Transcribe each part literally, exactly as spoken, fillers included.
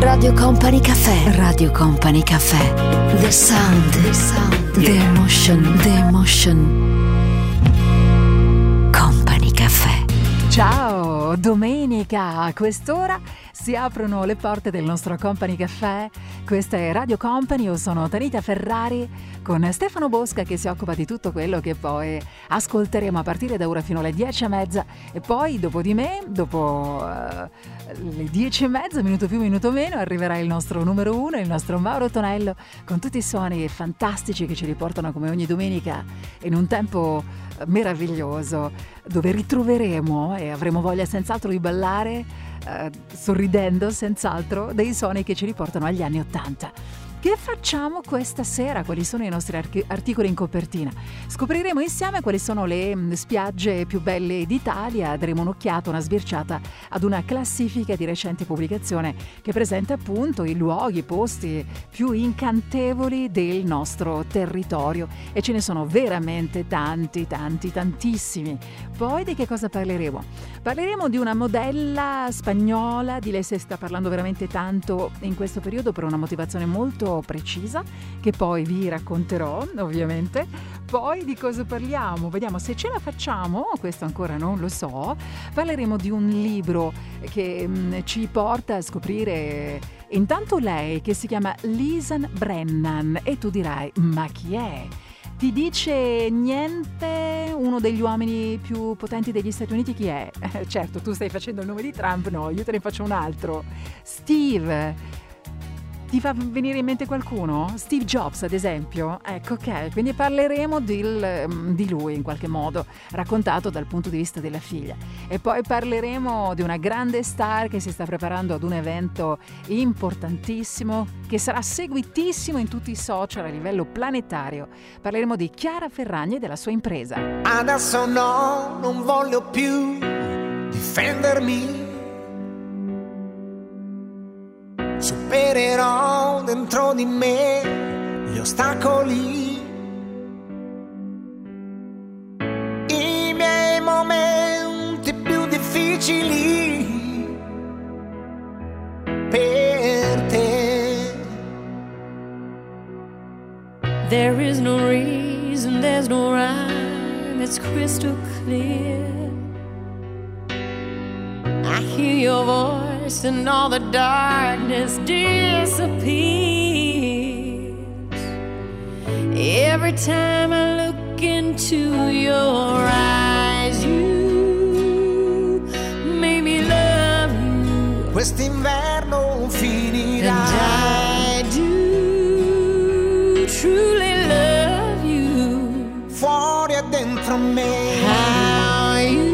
Radio Company Cafè. Radio Company Cafè. The sound. The sound. The emotion. The emotion. Company Cafè. Ciao, domenica a quest'ora si aprono le porte del nostro Company Cafè. Questa è Radio Company, io sono Tanita Ferrari con Stefano Bosca che si occupa di tutto quello che poi ascolteremo a partire da ora fino alle dieci e mezza e poi dopo di me, dopo uh, le dieci e mezza, minuto più minuto meno, arriverà il nostro numero uno, il nostro Mauro Tonello con tutti i suoni fantastici che ci riportano come ogni domenica in un tempo meraviglioso dove ritroveremo e avremo voglia senz'altro di ballare eh, sorridendo senz'altro dei suoni che ci riportano agli anni ottanta. Che facciamo questa sera? Quali sono i nostri archi- articoli in copertina? Scopriremo insieme quali sono le mh, spiagge più belle d'Italia, daremo un'occhiata, una sbirciata ad una classifica di recente pubblicazione che presenta appunto i luoghi, i posti più incantevoli del nostro territorio e ce ne sono veramente tanti, tanti, tantissimi. Poi di che cosa parleremo? Parleremo di una modella spagnola, di lei si sta parlando veramente tanto in questo periodo per una motivazione molto precisa che poi vi racconterò ovviamente. Poi di cosa parliamo? Vediamo se ce la facciamo, questo ancora non lo so. Parleremo di un libro che mh, ci porta a scoprire intanto lei, che si chiama Lisan Brennan, e tu dirai ma chi è? Ti dice niente uno degli uomini più potenti degli Stati Uniti? Chi è? Eh, certo, tu stai facendo il nome di Trump, no, io te ne faccio un altro. Steve. Ti fa venire in mente qualcuno? Steve Jobs, ad esempio? Ecco, ok, quindi parleremo di, di lui in qualche modo, raccontato dal punto di vista della figlia. E poi parleremo di una grande star che si sta preparando ad un evento importantissimo, che sarà seguitissimo in tutti i social a livello planetario. Parleremo di Chiara Ferragni e della sua impresa. Adesso no, non voglio più difendermi. Supererò dentro di me gli ostacoli, i miei momenti più difficili per te. There is no reason, there's no rhyme, it's crystal clear. I hear your voice and all the darkness disappears. Every time I look into your eyes, you make me love you. Quest'inverno finirà. And I do truly love you. Fuori e dentro me. How you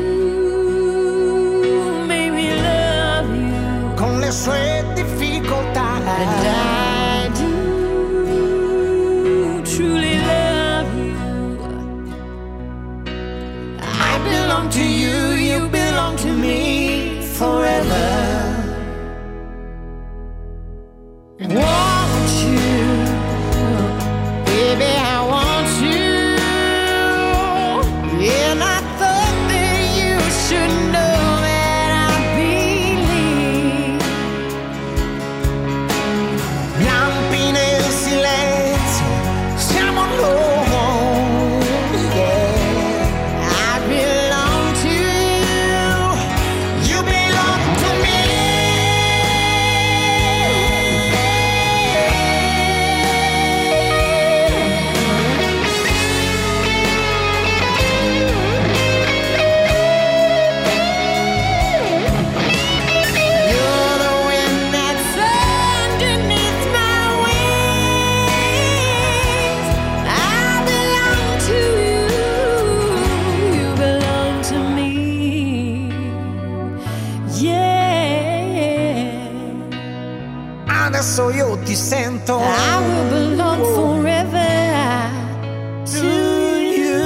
sue difficoltà. And I do truly love you. I belong to you, you belong to me forever. Want you, baby, I want you. And I thought that you should know. Adesso io ti sento. I will belong forever to you.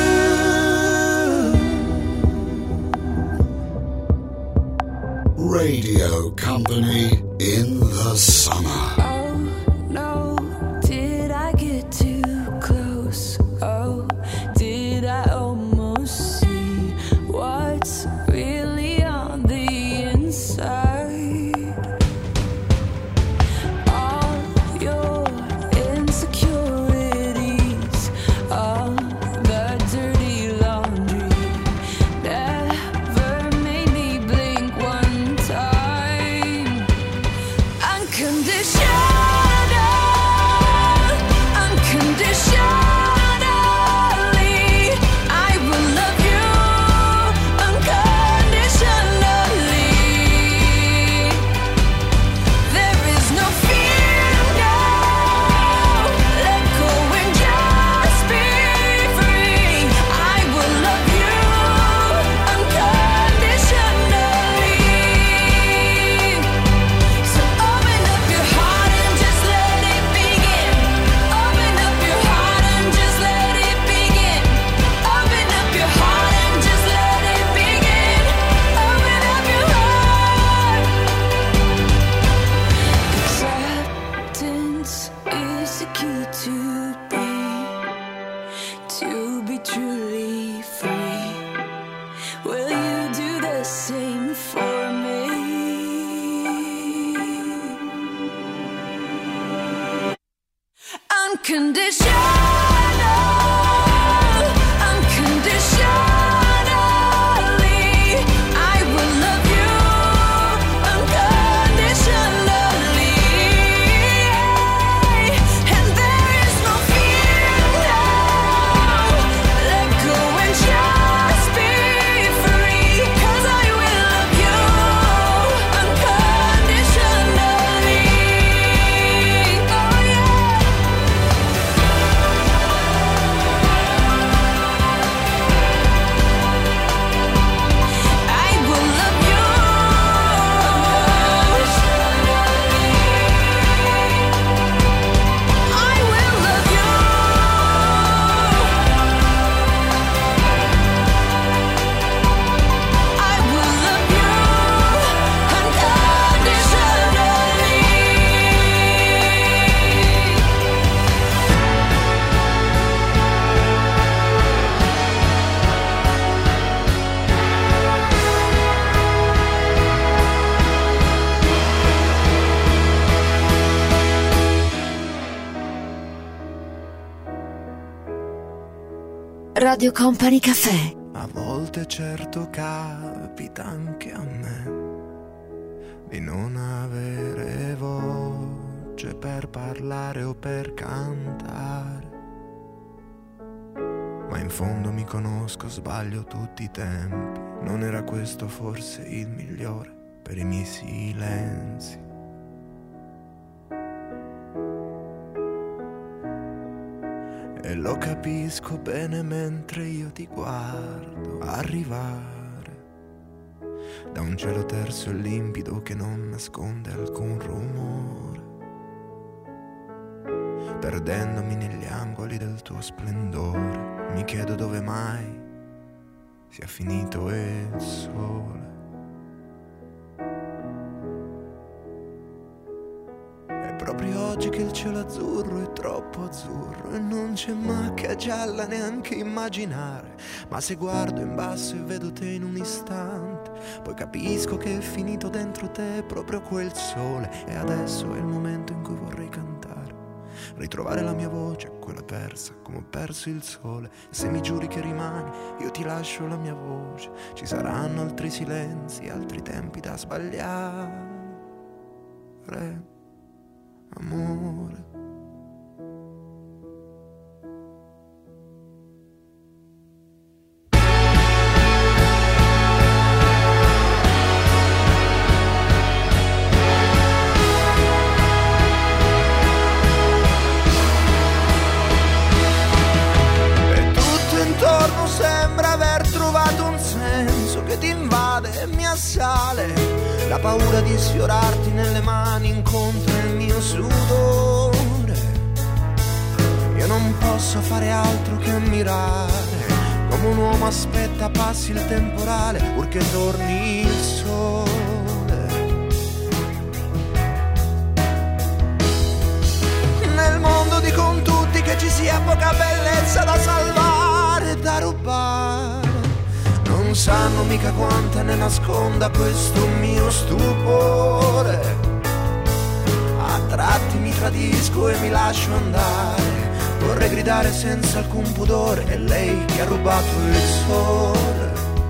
Radio Company in the summer. Oh no, did I get too close? Oh, did I almost see what's really on the inside? Radio Company Cafè. A volte certo capita anche a me di non avere voce per parlare o per cantare, ma in fondo mi conosco, sbaglio tutti i tempi. Non era questo forse il migliore per i miei silenzi? E lo capisco bene mentre io ti guardo arrivare da un cielo terso e limpido che non nasconde alcun rumore, perdendomi negli angoli del tuo splendore. Mi chiedo dove mai sia finito il sole. Proprio oggi che il cielo azzurro è troppo azzurro e non c'è macchia gialla neanche immaginare, ma se guardo in basso e vedo te in un istante, poi capisco che è finito dentro te proprio quel sole. E adesso è il momento in cui vorrei cantare, ritrovare la mia voce, quella persa come ho perso il sole. Se mi giuri che rimani io ti lascio la mia voce. Ci saranno altri silenzi, altri tempi da sbagliare, amore. E tutto intorno sembra aver trovato un senso che ti invade e mi assale. La paura di sfiorarti nelle mani incontra il mio sudore. Io non posso fare altro che ammirare come un uomo aspetta passi il temporale purché torni il sole. Nel mondo dicono tutti che ci sia poca bellezza da salvare e da rubare. Non sanno mica quanta ne nasconda questo mio stupore. A tratti mi tradisco e mi lascio andare. Vorrei gridare senza alcun pudore, è lei che ha rubato il sole.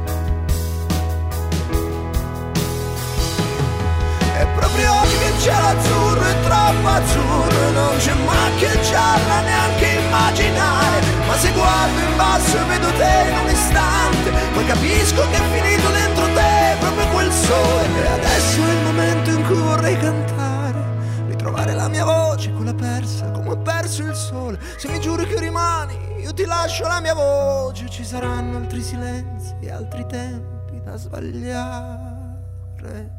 È proprio oggi che il cielo azzurro è troppo azzurro e non c'è macchia gialla neanche immaginare. Ma se guardo in basso e vedo te in un istante, poi capisco che è finito dentro te proprio quel sole. E adesso è il momento in cui vorrei cantare, ritrovare la mia voce, quella persa come ho perso il sole. Se mi giuri che rimani io ti lascio la mia voce. Ci saranno altri silenzi e altri tempi da sbagliare.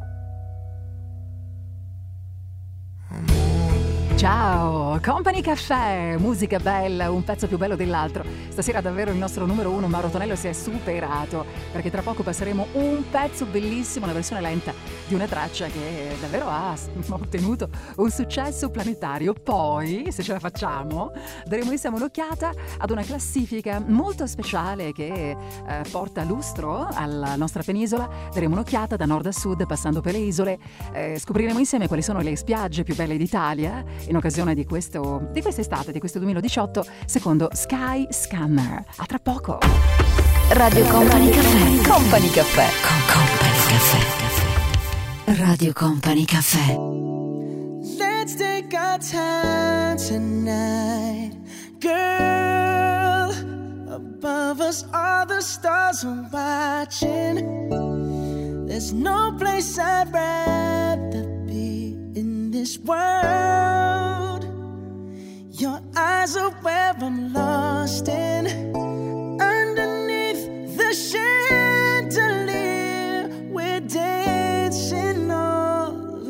Ciao, Company Cafè, musica bella, un pezzo più bello dell'altro. Stasera davvero il nostro numero uno Mauro Tonello si è superato, perché tra poco passeremo un pezzo bellissimo, una versione lenta di una traccia che davvero ha ottenuto un successo planetario. Poi, se ce la facciamo, daremo insieme un'occhiata ad una classifica molto speciale che eh, porta lustro alla nostra penisola. Daremo un'occhiata da nord a sud, passando per le isole, eh, scopriremo insieme quali sono le spiagge più belle d'Italia e in occasione di questo di quest'estate, di questo duemiladiciotto, secondo Sky Scanner. A tra poco. Radio Company Cafè. Company Cafè. Con Company Cafè. Radio Company Cafè. Let's take our time tonight, girl. Above us all the stars are watching. There's no place I'd rather be in this world. Your eyes are where I'm lost in. Underneath the chandelier, we're dancing all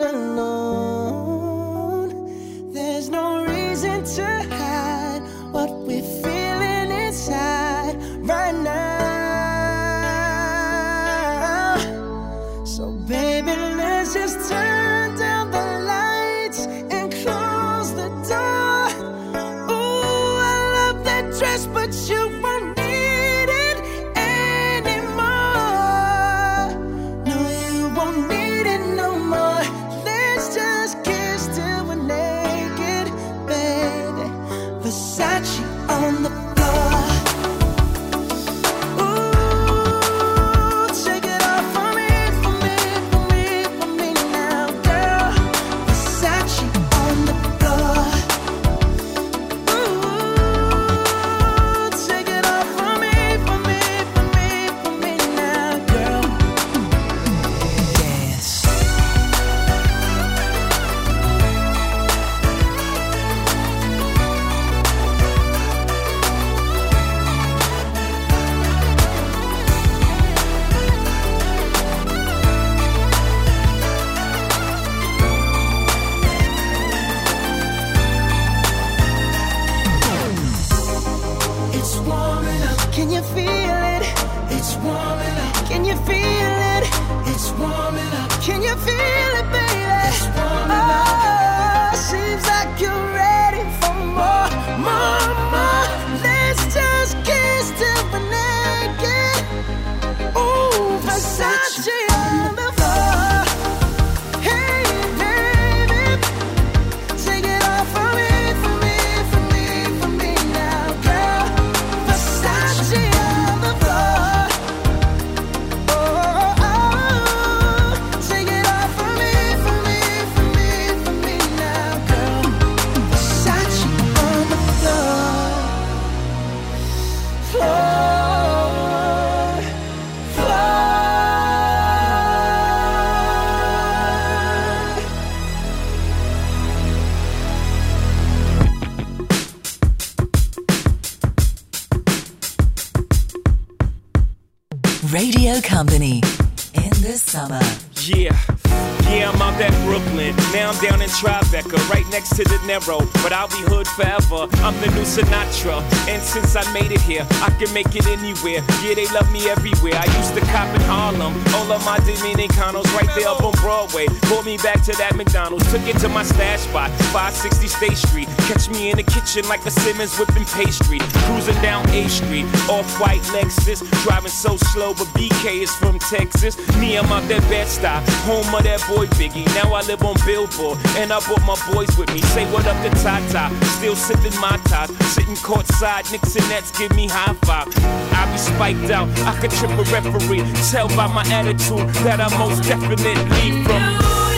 alone. There's no reason to hide what we're feeling inside right now. So baby, let's just turn down the lights and close the door. Ooh, I love that dress, but you won't need it anymore. No, you won't need it no more. Let's just kiss till we're naked, baby. Versace on the floor. Ooh, take it off for me, for me, for me, for me now, girl. Versace on the floor. Ooh, take it off for me, for me, for me, for me now, girl. Dance. It's warming up. Can you feel it? It's warming up. Can you feel it? It's warming up. Can you feel it, baby? It's warming up. Oh, seems like you're ready for more, more, more. Let's just kiss till we're naked. Ooh, Versace on the floor. Hey, baby, take it off for me, for me, for me, for me now, girl. Versace on the floor. Oh, oh, oh. Take it off for me, for me, for me, for me now, girl. Versace on the floor. Floor. Floor. Radio Company in the summer. Yeah, yeah, I'm out at Brooklyn. Now I'm down in Tribeca, right next to De Niro. But I'll be hood forever. I'm the new Sinatra. And since I made it here, I can make it anywhere. Yeah, they love me everywhere. I used to cop in Harlem. All of my Dominicanos right there up on Broadway. Pulled me back to that McDonald's. Took it to my stash spot, five sixty State Street. Catch me in the kitchen like a Simmons whipping pastry. Cruising down A Street, off-white Lexus. Driving so slow, but B K is from Texas. Me, I'm out that Bed-Stuy, home of that boy Biggie. Now I live on Billboard, and I brought my boys with me. Say what up to Tata, still sipping my top. Sitting courtside, Knicks and Nets give me high five. I be spiked out, I could trip a referee. Tell by my attitude that I most definitely from.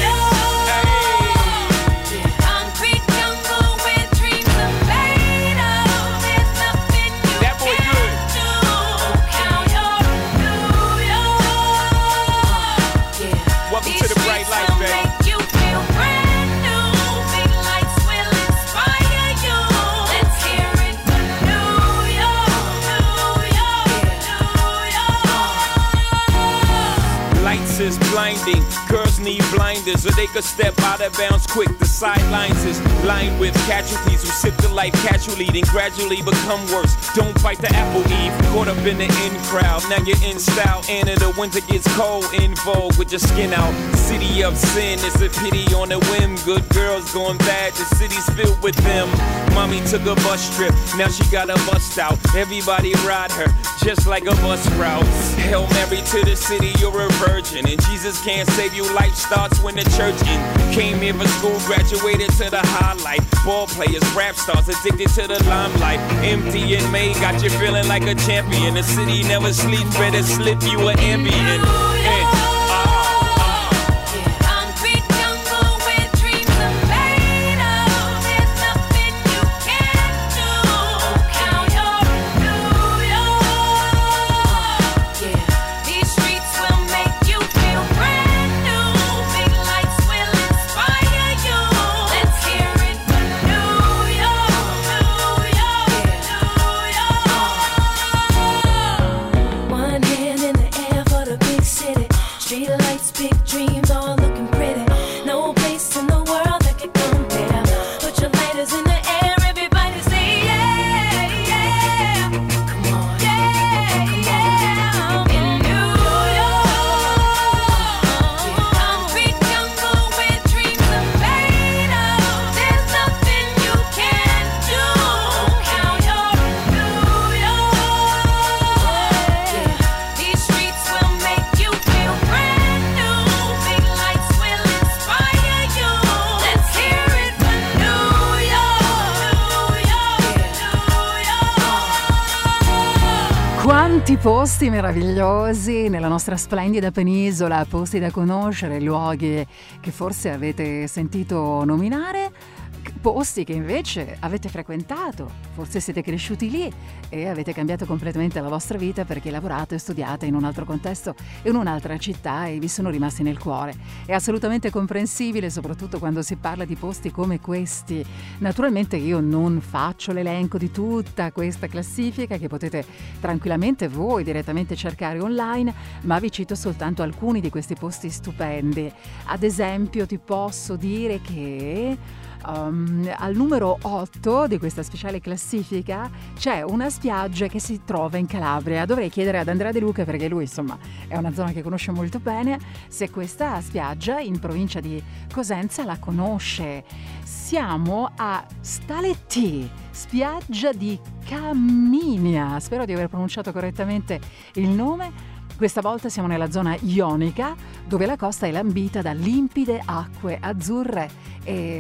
Is blinding. Girls need blinders or they could step out of bounds quick. The sidelines is lined with casualties who sip the life casually, then gradually become worse. Don't bite the apple, Eve. Caught up in the in crowd. Now you're in style, and in the winter gets cold. In vogue with your skin out. City of sin, it's a pity on a whim. Good girls going bad, the city's filled with them. Mommy took a bus trip, now she got a bust out. Everybody ride her, just like a bus route. Hail Mary to the city, you're a virgin. And Jesus can't save you, life starts when the church ends. Came here for school, graduated to the highlight. Ball players, rap stars, addicted to the limelight. Empty in May, got you feeling like a champion. The city never sleeps, better slip you an ambient. And, Quanti posti meravigliosi nella nostra splendida penisola, posti da conoscere, luoghi che forse avete sentito nominare, posti che invece avete frequentato, forse siete cresciuti lì e avete cambiato completamente la vostra vita perché lavorate e studiate in un altro contesto, in un'altra città e vi sono rimasti nel cuore. È assolutamente comprensibile, soprattutto quando si parla di posti come questi. Naturalmente io non faccio l'elenco di tutta questa classifica che potete tranquillamente voi direttamente cercare online, ma vi cito soltanto alcuni di questi posti stupendi. Ad esempio ti posso dire che Um, al numero otto di questa speciale classifica c'è una spiaggia che si trova in Calabria. Dovrei chiedere ad Andrea De Luca, perché lui insomma è una zona che conosce molto bene, se questa spiaggia in provincia di Cosenza la conosce. Siamo a Staletti, spiaggia di Caminia, spero di aver pronunciato correttamente il nome. Questa volta siamo nella zona ionica, dove la costa è lambita da limpide acque azzurre e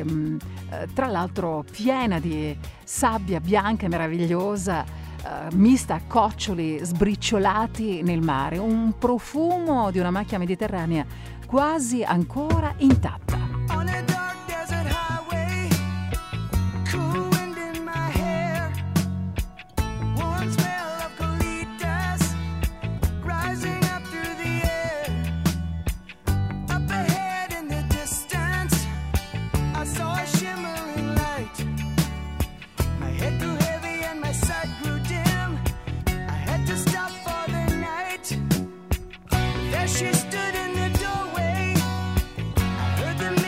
tra l'altro piena di sabbia bianca e meravigliosa, eh, mista a coccioli sbriciolati nel mare, un profumo di una macchia mediterranea quasi ancora intatta. She stood in the doorway. I heard the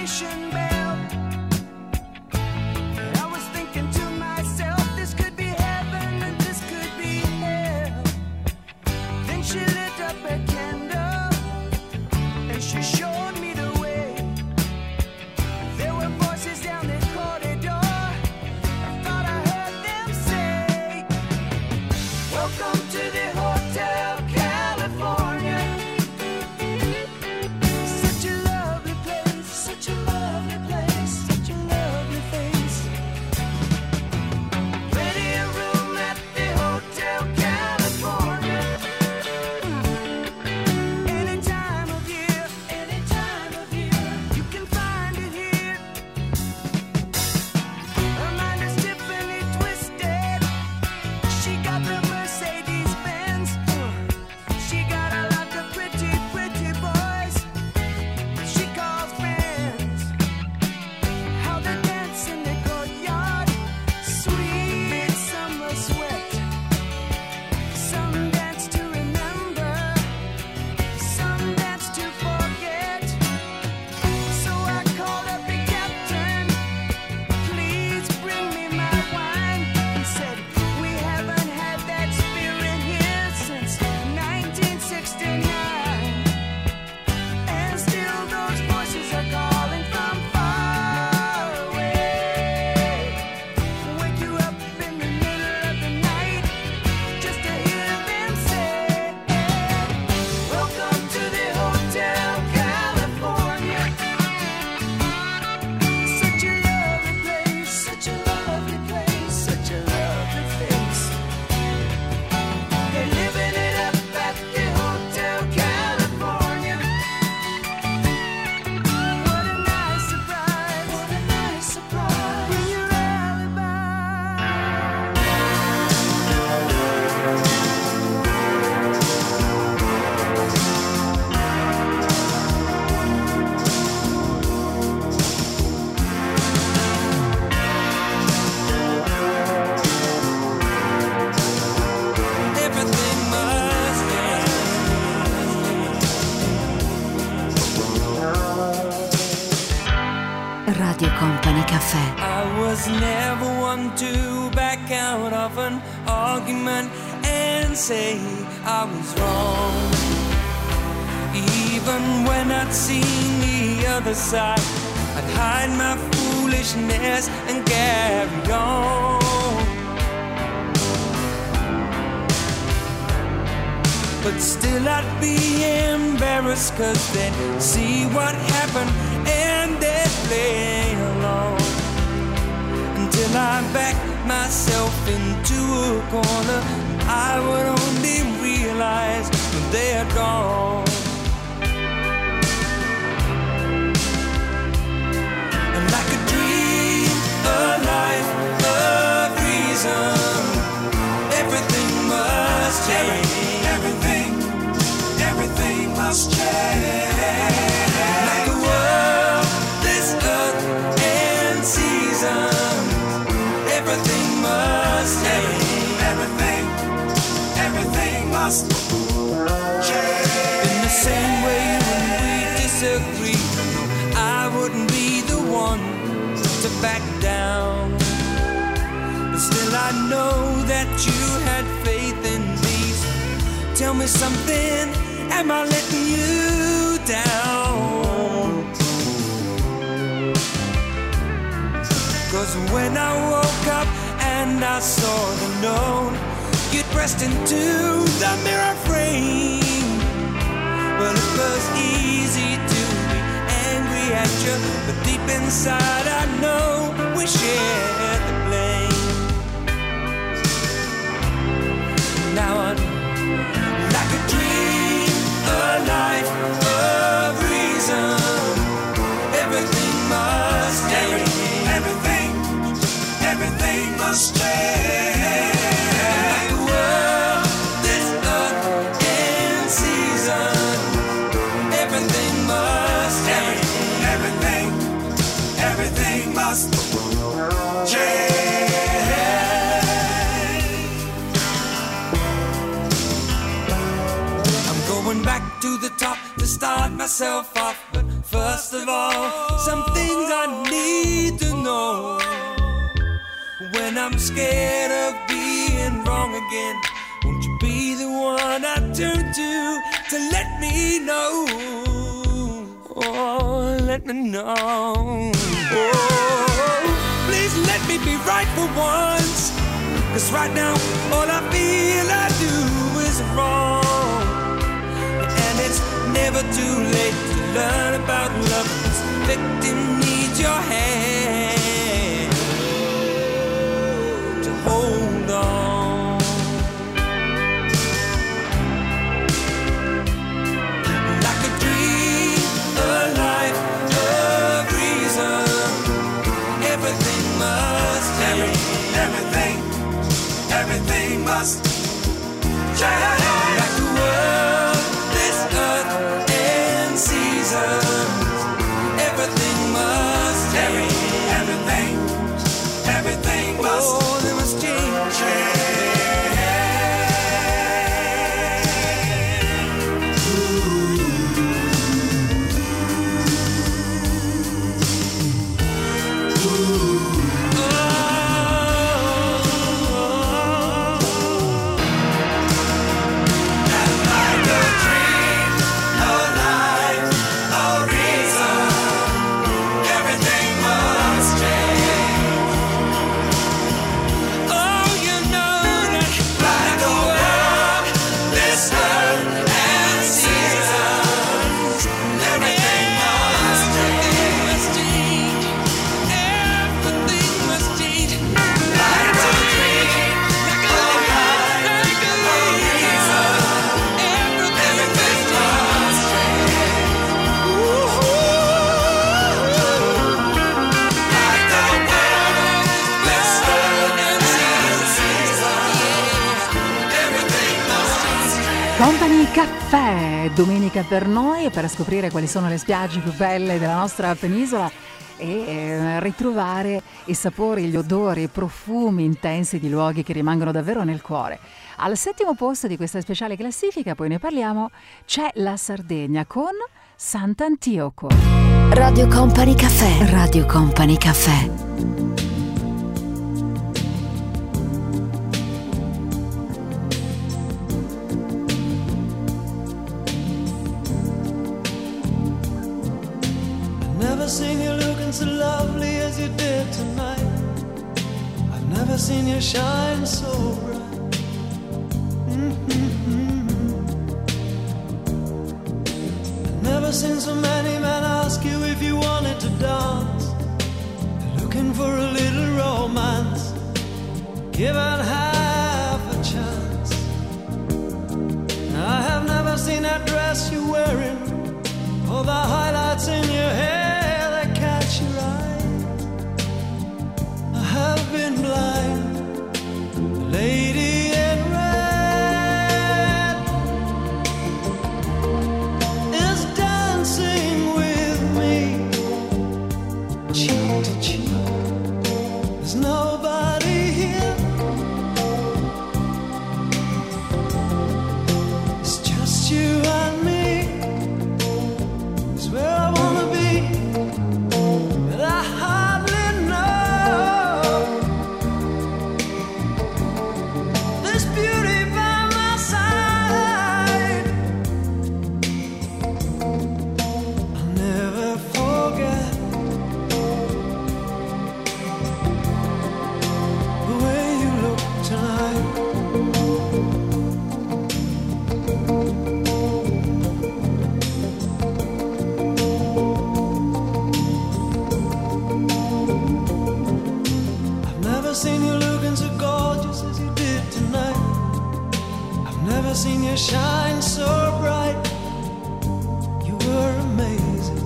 Company Cafè. I was never one to back out of an argument and say I was wrong. Even when I'd seen the other side, I'd hide my foolishness and carry on. But still I'd be embarrassed, cause they'd see what happened and they'd play along. Until I backed myself into a corner, I would only realize that they had gone. And like a dream, a life, a reason, everything must change. Everything, everything must change. Like the world, this earth and seasons, everything must change. Everything, everything must change. In the same way when we disagree, I wouldn't be the one to back down. But still I know that you had faith in me. Tell me something, am I letting you down? Cause when I woke up and I saw the note, you pressed into the mirror frame. Well, it was easy to be angry at you, but deep inside I know we shared the blame. Now I like a dream, a life, a reason, everything must change. Everything, everything must change. Like the world, this earth and season, everything must change. Everything, everything must change. Going back to the top to start myself off. But first of all, some things I need to know. When I'm scared of being wrong again, won't you be the one I turn to to let me know? Oh, let me know. Oh, please let me be right for once. Cause right now, all I feel I do is wrong. It's never too late to learn about love. This victim needs your hand to hold on. Like a dream, a life, a reason, everything must change. Everything, everything must change. Like the world, earth and seasons, everything must change. Everything, everything must, oh, they must change. Company Cafè, domenica per noi, per scoprire quali sono le spiagge più belle della nostra penisola e eh, ritrovare i sapori, gli odori, i profumi intensi di luoghi che rimangono davvero nel cuore. Al settimo posto di questa speciale classifica, poi ne parliamo, c'è la Sardegna con Sant'Antioco. Radio Company Cafè. Radio Company Cafè. Never seen you looking so lovely as you did tonight. I've never seen you shine so bright. Mm-hmm. I've never seen so many men ask you if you wanted to dance. They're looking for a little romance, given half a chance. I have never seen that dress you're wearing, all the highlights in your hair that catch your eye. I have been blind, the lady in red is dancing with me, cheek to cheek. There's nobody here, it's just you and me. Where I wanna be, but I hardly know. This beauty by my side, I'll never forget the way you look tonight. Seen you looking so gorgeous as you did tonight. I've never seen you shine so bright. You were amazing.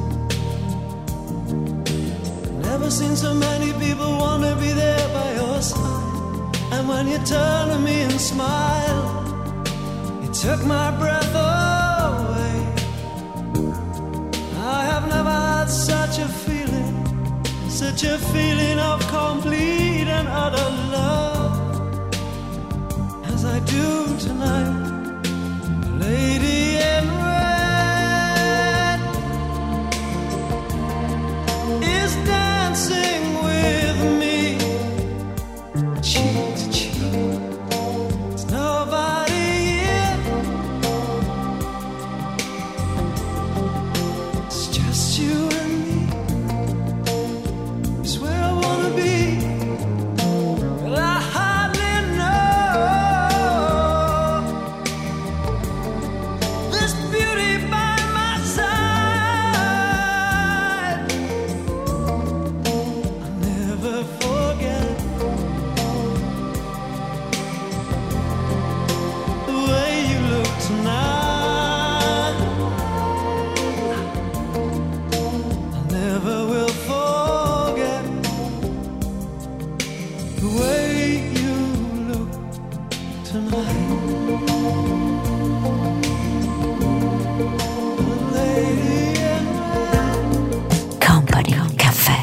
Never seen so many people want to be there by your side. And when you turn to me and smile, it took my breath away. I have never had such a feeling, such a feeling of complete and utter love as I do tonight. Lady in red is dancing with me, cheek to cheek. There's nobody here, it's just you and me. It's where I wanna be, but I hardly know. This beauty by my side, I'll never forget the way you look tonight. I never will forget the way you look tonight. The lady in red. Company Cafè.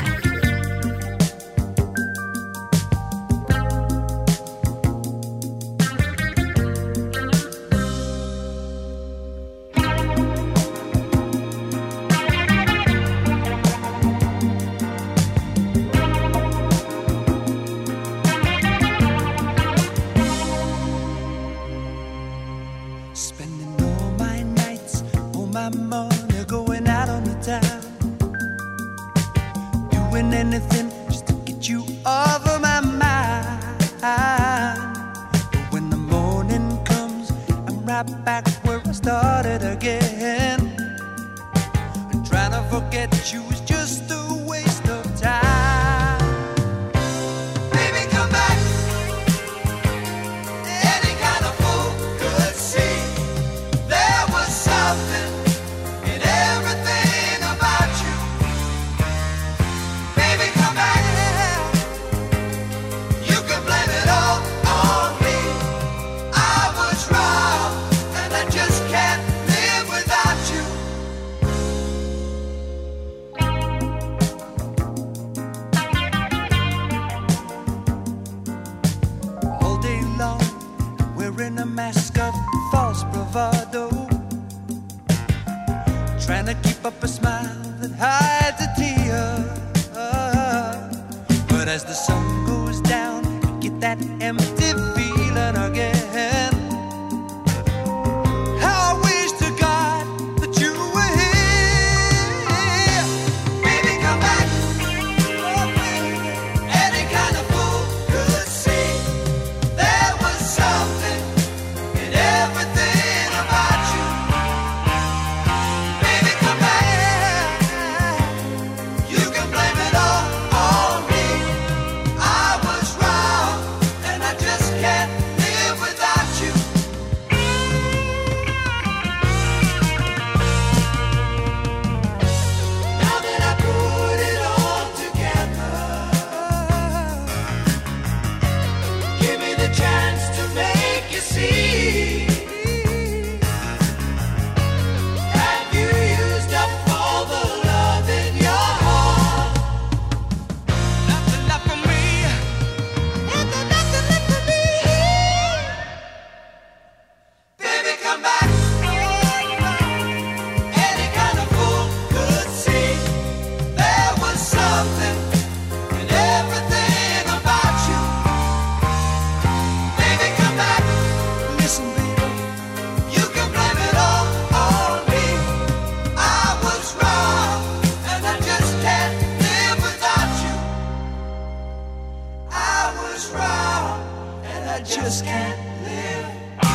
Spending all my nights, all my money going out on the town, doing anything just to get you off of my mind. But when the morning comes, I'm right back where I started again. And trying to forget you is just a waste of time. Baby, come back. Any kind of fool could see there was something in everything about you. Baby, come back. You can blame it all on me. I was wrong, and I just can't live without you. as the sun goes down, I get that empty feeling again. How I wish to God that you were here. Baby, come back. Oh, baby. Any kind of fool could see there was something in everything about you. Baby, come back. You can blame it all on me. I was wrong, and I just can't live without you. Now that I put it all together, give me the chance to make you see. Have you used up all the love in your heart? Nothing left for me. Nothing, nothing left for me. Baby, come back. Any kind of fool could see there was something in everything about you. Baby, come back. Listen, baby, you can blame it all on me. I was wrong, and I just can't live without you. I was wrong, and I just can't live.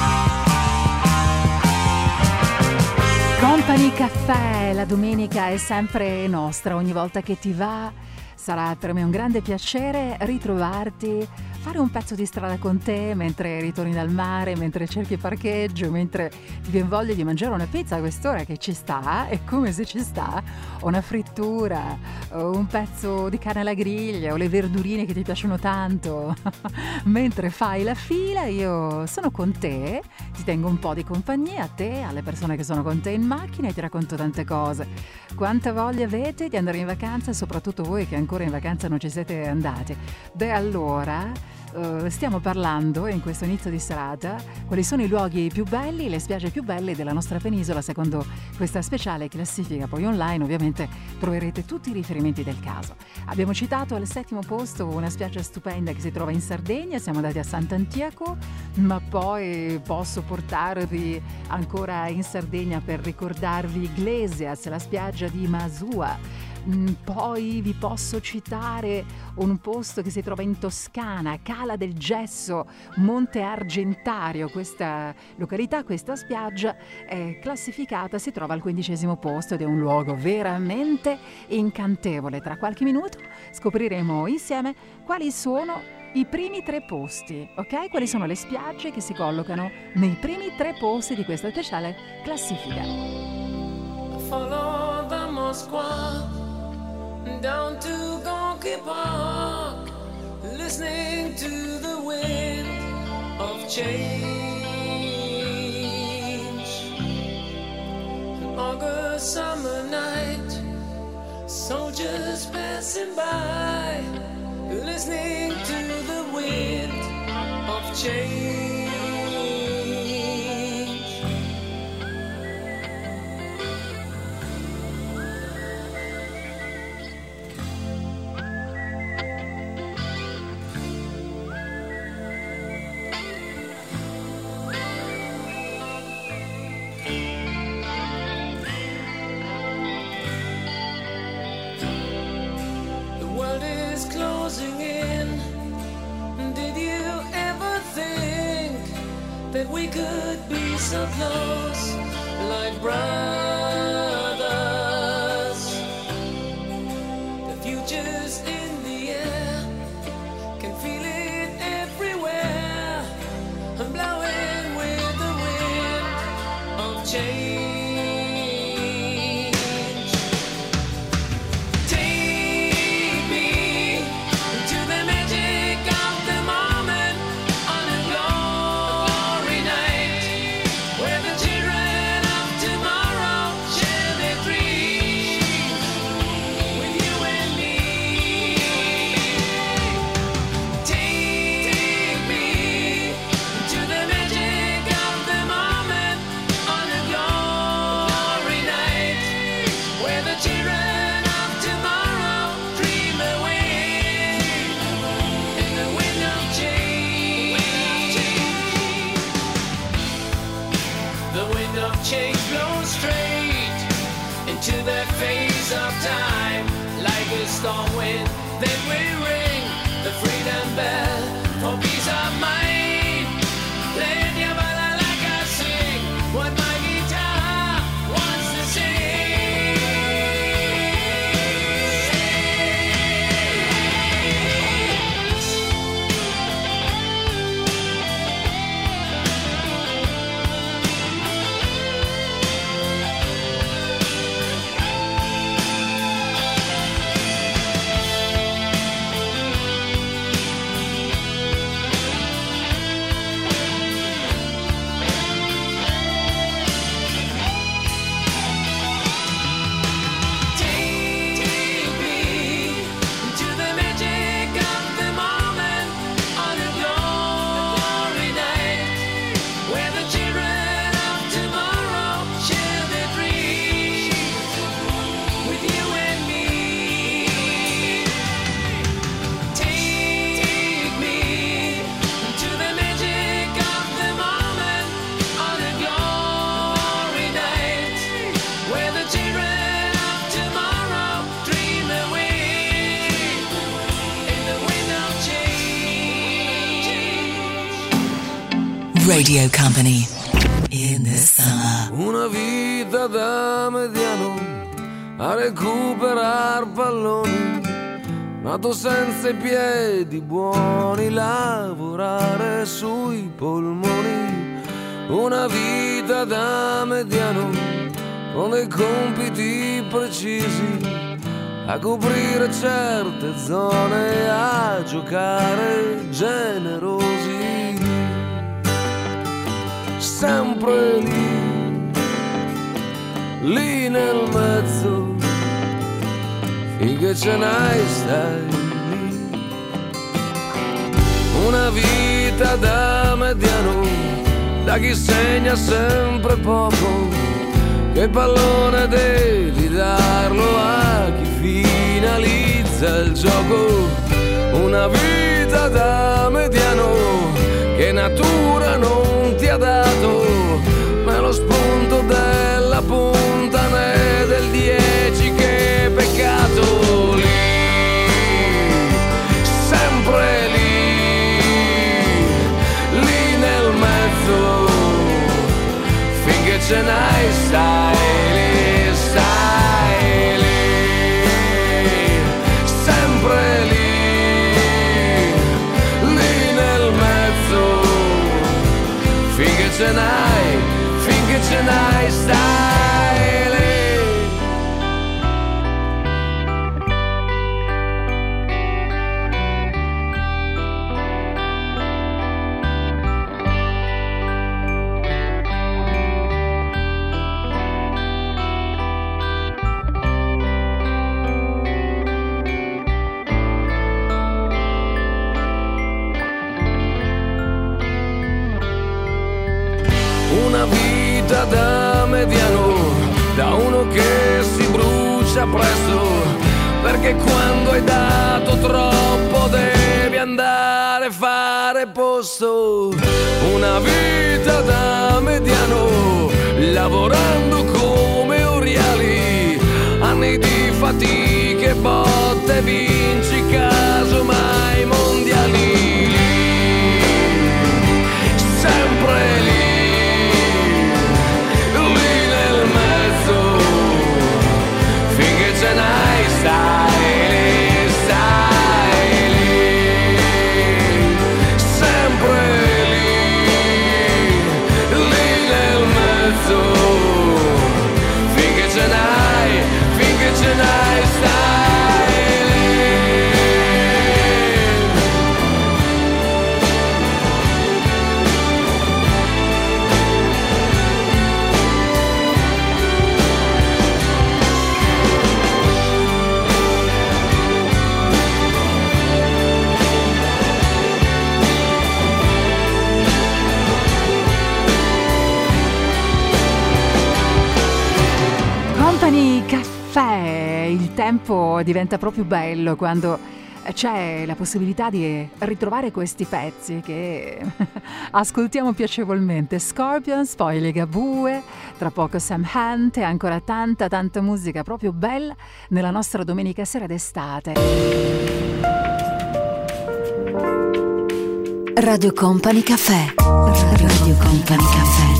Company Caffè, la domenica è sempre nostra, ogni volta che ti va sarà per me un grande piacere ritrovarti, fare un pezzo di strada con te mentre ritorni dal mare, mentre cerchi parcheggio, mentre ti viene voglia di mangiare una pizza a quest'ora che ci sta, è come se ci sta, o una frittura, o un pezzo di carne alla griglia, o le verdurine che ti piacciono tanto. Mentre fai la fila io sono con te, ti tengo un po' di compagnia, a te, alle persone che sono con te in macchina, e ti racconto tante cose. Quanta voglia avete di andare in vacanza, soprattutto voi che ancora in vacanza non ci siete andati? Beh, allora Uh, stiamo parlando in questo inizio di serata quali sono i luoghi più belli, le spiagge più belle della nostra penisola secondo questa speciale classifica. Poi online ovviamente troverete tutti i riferimenti del caso. Abbiamo citato al settimo posto una spiaggia stupenda che si trova in Sardegna, siamo andati a Sant'Antiaco, ma poi posso portarvi ancora in Sardegna per ricordarvi Iglesias, la spiaggia di Masua. Poi vi posso citare un posto che si trova in Toscana, Cala del Gesso, Monte Argentario. Questa località, questa spiaggia è classificata, si trova al quindicesimo posto ed è un luogo veramente incantevole. Tra qualche minuto scopriremo insieme quali sono i primi tre posti, ok? Quali sono le spiagge che si collocano nei primi tre posti di questa speciale classifica. Follow the Moskva down to Gonky Park, listening to the wind of change. An August summer night, soldiers passing by, listening to the wind of change. Closing in. Did you ever think that we could be so close, like brothers? The future's in the air, can feel it everywhere. I'm blowing with the wind of change. Tomorrow Radio Company in the summer. Una vita da mediano a recuperar palloni, nato senza i piedi buoni, lavorare sui polmoni. Una vita da mediano con dei compiti precisi, a coprire certe zone, a giocare generosi. Sempre lì, lì nel mezzo, finché ce n'hai stai lì. Una vita da mediano, da chi segna sempre poco, che pallone devi darlo a chi finalizza il gioco. Una vita da mediano che natura non ti ha dato, né lo spunto della punta né del dieci, che peccato. Lì, sempre lì, lì nel mezzo, finché ce n'hai stai lì, stai lì, sempre lì. Finché ce n'hai, finché ce n'hai, stai lì. Una vita da mediano, da uno che si brucia presto, perché quando hai dato troppo devi andare a fare posto. Una vita da mediano, lavorando come oriali, anni di fatiche, botte, vinci casomai mondiali. Sempre lì, ce n'hai, stai lì, stai lì, sempre lì, lì nel mezzo, finché ce n'hai, finché ce n'hai, stai lì. Company Caffè, il tempo diventa proprio bello quando c'è la possibilità di ritrovare questi pezzi che ascoltiamo piacevolmente. Scorpions, poi Ligabue, tra poco Sam Hunt e ancora tanta tanta musica proprio bella nella nostra domenica sera d'estate. Radio Company Caffè. Radio Company Caffè.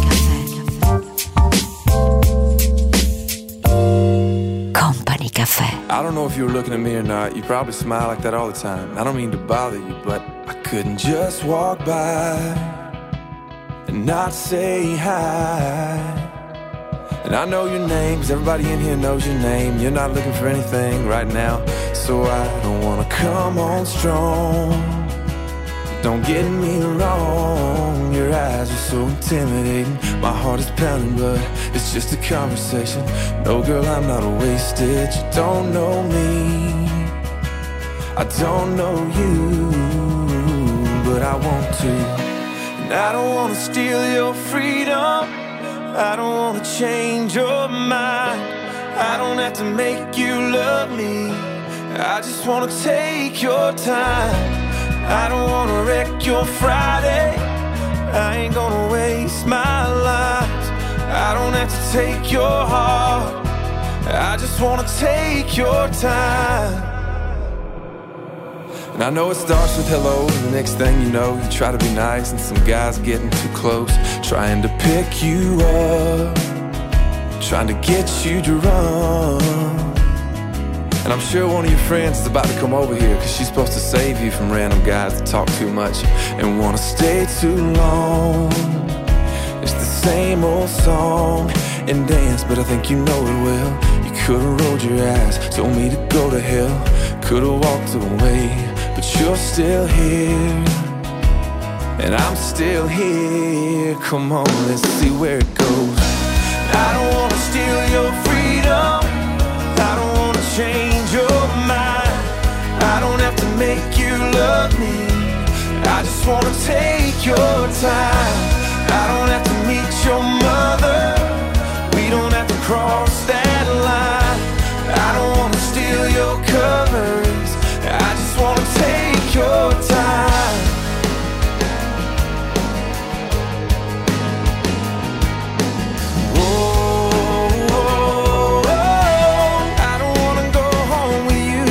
Company Caffè. I don't know if you were looking at me or not. You probably smile like that all the time. I don't mean to bother you, but I couldn't just walk by and not say hi. And I know your name, 'cause everybody in here knows your name. You're not looking for anything right now, so I don't wanna come on strong. Don't get me wrong, your eyes are so intimidating. My heart is pounding, but it's just a conversation. No, girl, I'm not wasted. You don't know me, I don't know you, but I want to. And I don't want to steal your freedom, I don't want to change your mind. I don't have to make you love me, I just want to take your time. I don't wanna wreck your Friday, I ain't gonna waste my life. I don't have to take your heart, I just wanna take your time. And I know it starts with hello, and the next thing you know, you try to be nice, and some guy's getting too close, trying to pick you up, trying to get you to run. And I'm sure one of your friends is about to come over here, cause she's supposed to save you from random guys that talk too much and wanna stay too long. It's the same old song and dance, but I think you know it well. You could've rolled your eyes, told me to go to hell, could've walked away, but you're still here, and I'm still here. Come on, let's see where it goes. I don't wanna steal your freedom, I don't wanna change your mind, I don't have to make you love me, I just wanna take your time. I don't have to meet your mother, we don't have to cross that line, I don't wanna steal your covers, I just wanna take your time. Oh, oh, oh, I don't wanna go home with you.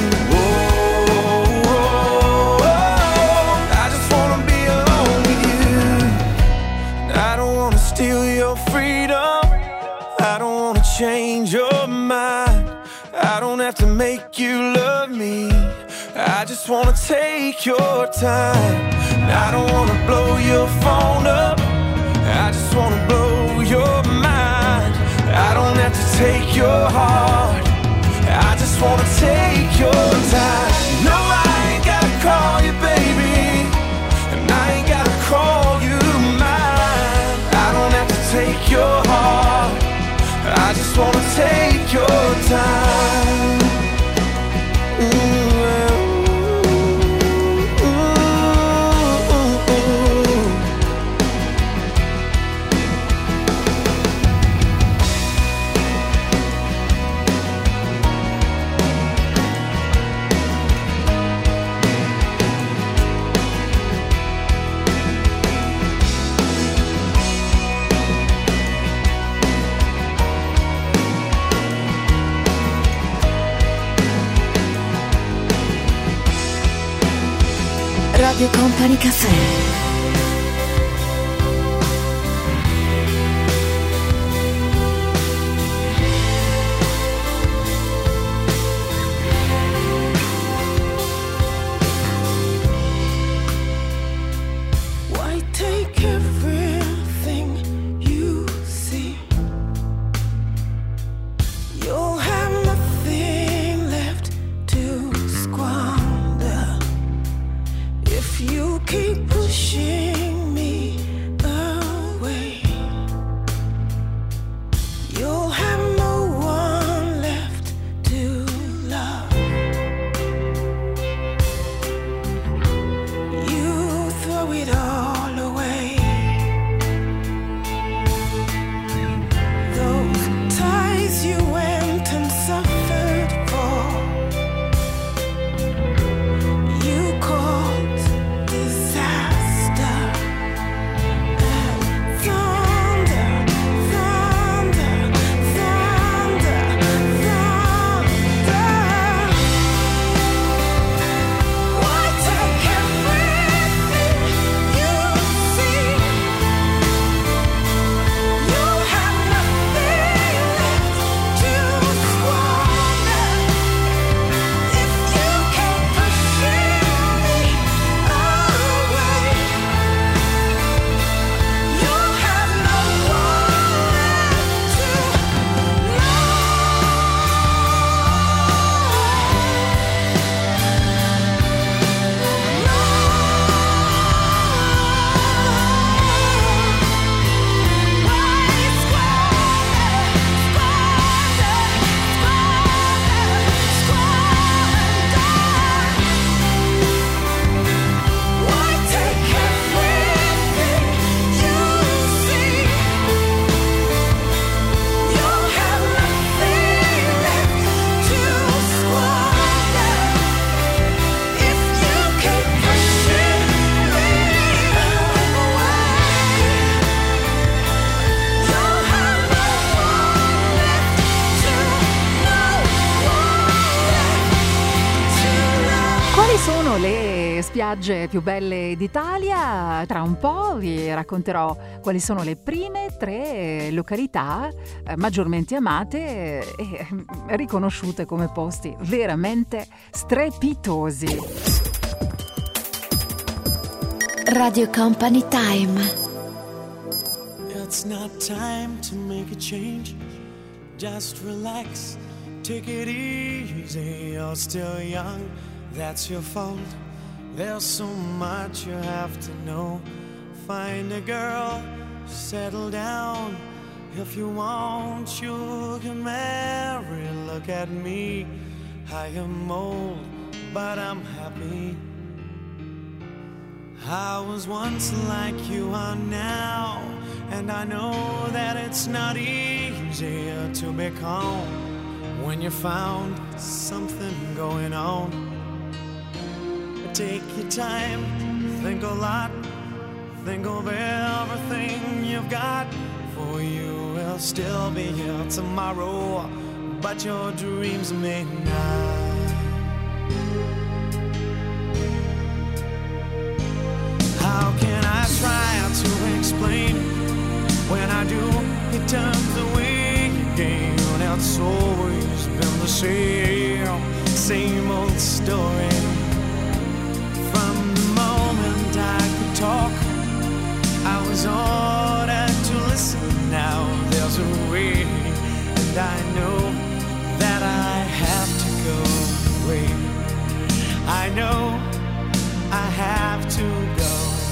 Oh, oh, oh, I just wanna be alone with you. I don't wanna steal your freedom, I don't wanna change your mind, I don't have to make you love me, I just wanna take your time. I don't wanna blow your phone up, I just wanna blow your mind, I don't have to take your heart, I just wanna take your time. No, I ain't gotta call you baby, and I ain't gotta call you mine, I don't have to take your heart, I just wanna take your time. Mm. Radio Company Cafè. Disaster. sono le spiagge più belle d'Italia? Tra un po' vi racconterò quali sono le prime tre località maggiormente amate e riconosciute come posti veramente strepitosi. Radio Company Time. It's not time to make a change. Just relax, take it easy. You're still young, that's your fault. There's so much you have to know. Find a girl, settle down. If you want, you can marry. Look at me, I am old, but I'm happy. I was once like you are now, and I know that it's not easier to be calm when you found something going on. Take your time, think a lot, think of everything you've got, for you will still be here tomorrow, but your dreams may not. How can I try to explain? When I do, it turns away again. It's always been the same, same old story. From the moment I could talk, I was ordered to listen. Now there's a way, and I know that I have to go away. I know I have to go.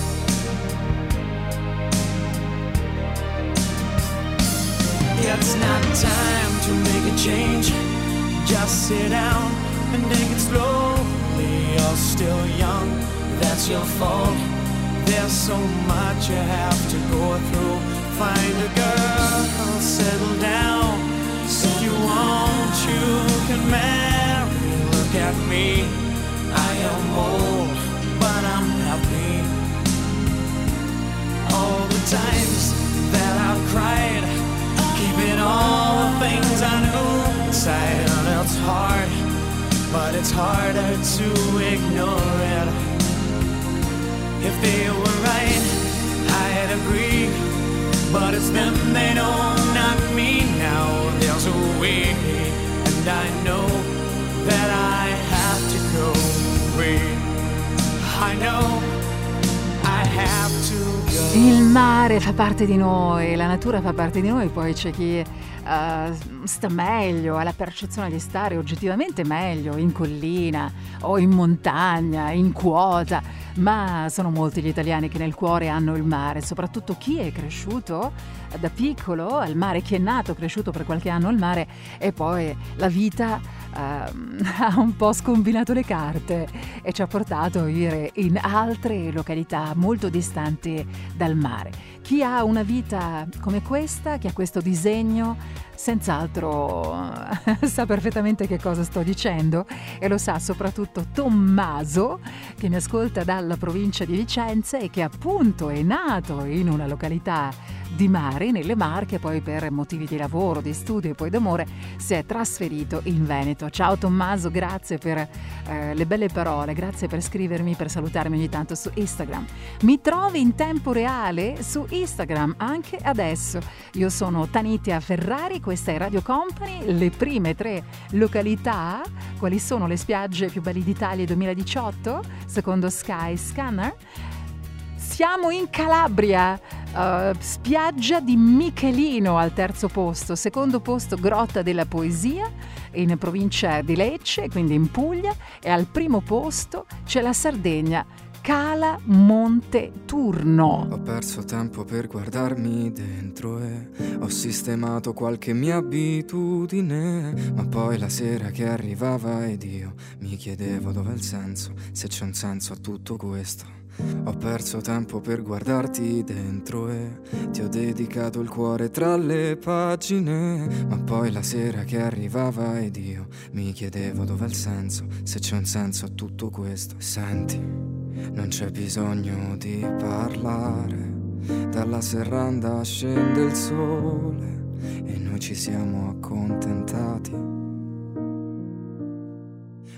It's not time to make a change. Just sit down and take it slowly. You're still young, that's your fault. There's so much you have to go through. Find a girl, settle down. If you want, you can marry. Look at me, I am old, but I'm happy. All the times that I've cried, keeping all the things I knew inside. And it's hard, but it's harder to ignore it. If they were right, I'd agree, but it's them they know, not me. Now there's a way, and I know that I have to go away. I know I have to go. Il mare fa parte di noi, la natura fa parte di noi, poi c'è chi uh, sta meglio, ha la percezione di stare oggettivamente meglio in collina o in montagna, in quota, ma sono molti gli italiani che nel cuore hanno il mare, soprattutto chi è cresciuto da piccolo al mare, chi è nato, cresciuto per qualche anno al mare e poi la vita uh, ha un po' scombinato le carte e ci ha portato a vivere in altre località molto distanti dal mare. Chi ha una vita come questa, che ha questo disegno, senz'altro sa perfettamente che cosa sto dicendo e lo sa soprattutto Tommaso, che mi ascolta dalla provincia di Vicenza e che appunto è nato in una località di mare, nelle Marche, poi per motivi di lavoro, di studio e poi d'amore si è trasferito in Veneto. Ciao Tommaso, grazie per eh, le belle parole, grazie per scrivermi, per salutarmi ogni tanto su Instagram. Mi trovi in tempo reale su Instagram anche adesso. Io sono Tanitia Ferrari, questa è Radio Company. Le prime tre località, quali sono le spiagge più belle d'Italia duemiladiciotto secondo Sky Scanner? Siamo in Calabria, uh, spiaggia di Michelino al terzo posto, secondo posto Grotta della Poesia in provincia di Lecce, quindi in Puglia, e al primo posto c'è la Sardegna, Cala Monte Turno. Ho perso tempo per guardarmi dentro e ho sistemato qualche mia abitudine, ma poi la sera che arrivava ed io mi chiedevo dov'è il senso, se c'è un senso a tutto questo. Ho perso tempo per guardarti dentro e ti ho dedicato il cuore tra le pagine, ma poi la sera che arrivava ed io mi chiedevo dov'è il senso, se c'è un senso a tutto questo. Senti, non c'è bisogno di parlare, dalla serranda scende il sole e noi ci siamo accontentati.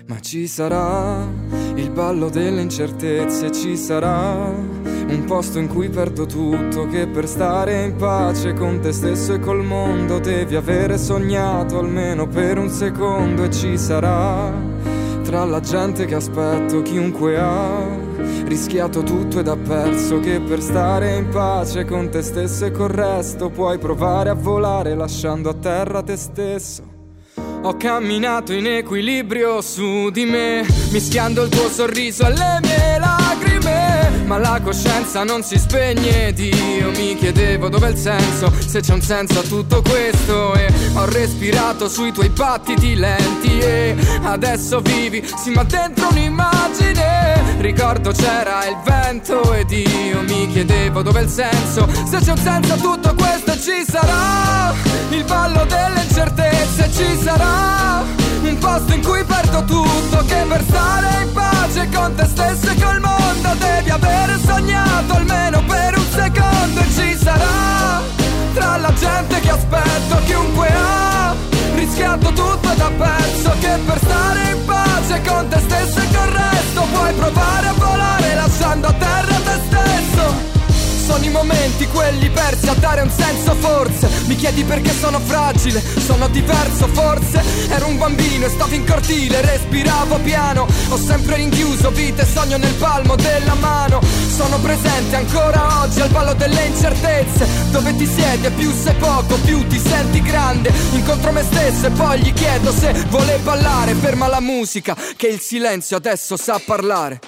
Ma ci sarà il ballo delle incertezze, ci sarà un posto in cui perdo tutto, che per stare in pace con te stesso e col mondo devi avere sognato almeno per un secondo. E ci sarà tra la gente che aspetto chiunque ha rischiato tutto ed ha perso, che per stare in pace con te stesso e col resto puoi provare a volare lasciando a terra te stesso. Ho camminato in equilibrio su di me, mischiando il tuo sorriso alle mie lacrime, ma la coscienza non si spegne ed io mi chiedevo dov'è il senso, se c'è un senso a tutto questo. E ho respirato sui tuoi battiti lenti e adesso vivi, sì ma dentro un'immagine. Ricordo c'era il vento ed io mi chiedevo dov'è il senso, se c'è un senso a tutto questo. E ci sarà il ballo delle incertezze, ci sarà un posto in cui perdo tutto, che per stare in pace con te stesso e col mondo devi avere sognato almeno per un secondo. E ci sarà tra la gente che aspetto chiunque ha rischiato tutto ed ha perso, che per stare in pace con te stesso e col resto puoi provare a volare lasciando a terra te stesso. Sono i momenti quelli persi a dare un senso forse. Mi chiedi perché sono fragile, sono diverso forse. Ero un bambino e stavo in cortile, respiravo piano. Ho sempre rinchiuso vita e sogno nel palmo della mano. Sono presente ancora oggi al ballo delle incertezze, dove ti siedi e più sei poco, più ti senti grande. Incontro me stesso e poi gli chiedo se vuole ballare. Ferma la musica che il silenzio adesso sa parlare.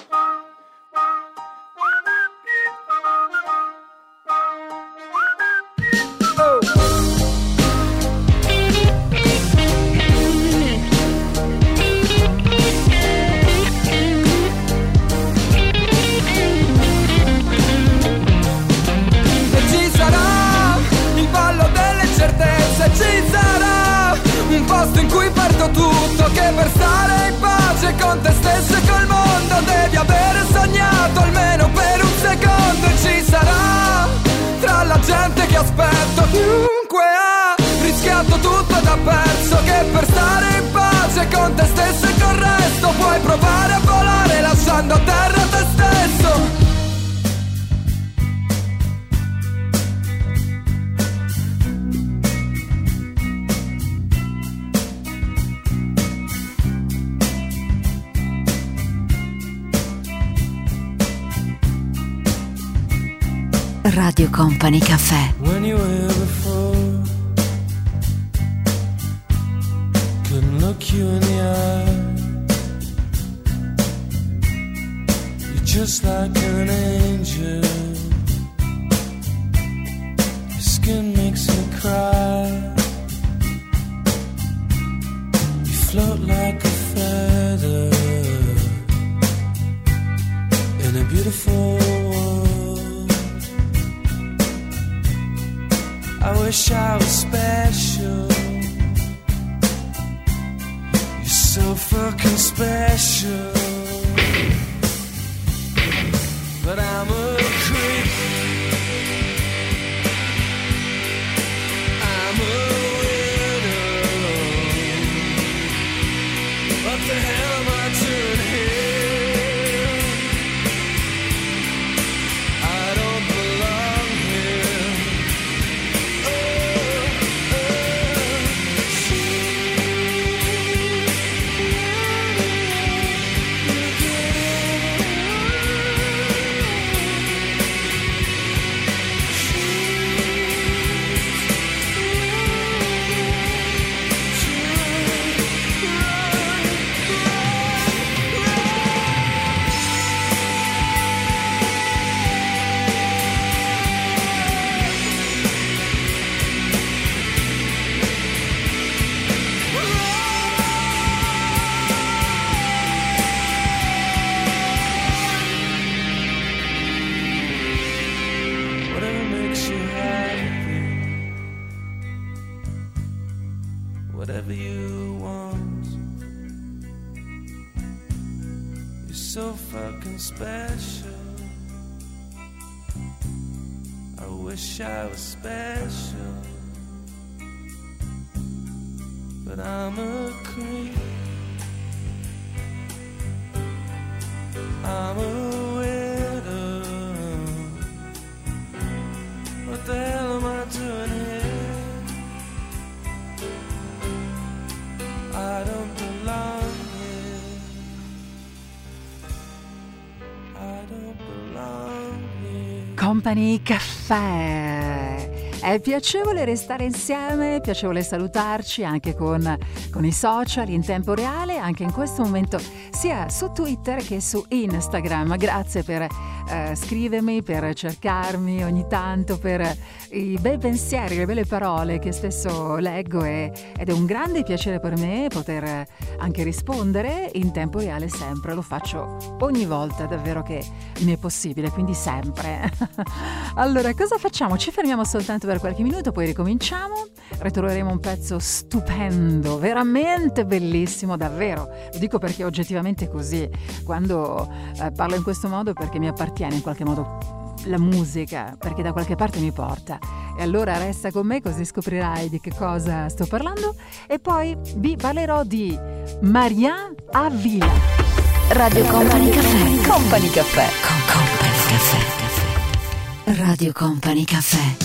Ci sarà un posto in cui perdo tutto, che per stare in pace con te stesso e col mondo devi avere sognato almeno per un secondo. E ci sarà tra la gente che aspetto chiunque ha rischiato tutto ed ha perso, che per stare in pace con te stesso e col resto puoi provare a volare lasciando a terra te stesso. Radio Company Cafè. When you were here before, couldn't look you in the eye. You're just like an angel. Your skin makes me cry. You float like a feather in a beautiful world. I wish I was special. You're so fucking special. But I'm a creep. I'm a widow. What the hell am I doing here? I don't belong here. Whatever you want. You're so fucking special. I wish I was special, but I'm a creep. I'm a widow. What the hell am I doing here? I don't belong here. I don't belong here. Company Caffè. È piacevole restare insieme, è piacevole salutarci anche con, con i social in tempo reale, anche in questo momento, sia su Twitter che su Instagram. Grazie per eh, scrivermi, per cercarmi ogni tanto, per i bei pensieri, le belle parole che spesso leggo e, ed è un grande piacere per me poter anche rispondere in tempo reale sempre. Lo faccio ogni volta, davvero che mi è possibile, quindi sempre. Allora, cosa facciamo? Ci fermiamo soltanto per qualche minuto, poi ricominciamo, ritroveremo un pezzo stupendo, veramente bellissimo, davvero. Lo dico perché oggettivamente è così. Quando eh, parlo in questo modo perché mi appartiene in qualche modo la musica, perché da qualche parte mi porta. E allora resta con me così scoprirai di che cosa sto parlando. E poi vi parlerò di Marianne Avila. Radio Company Caffè. Company Caffè. Con Company Caffè. Radio Company Caffè.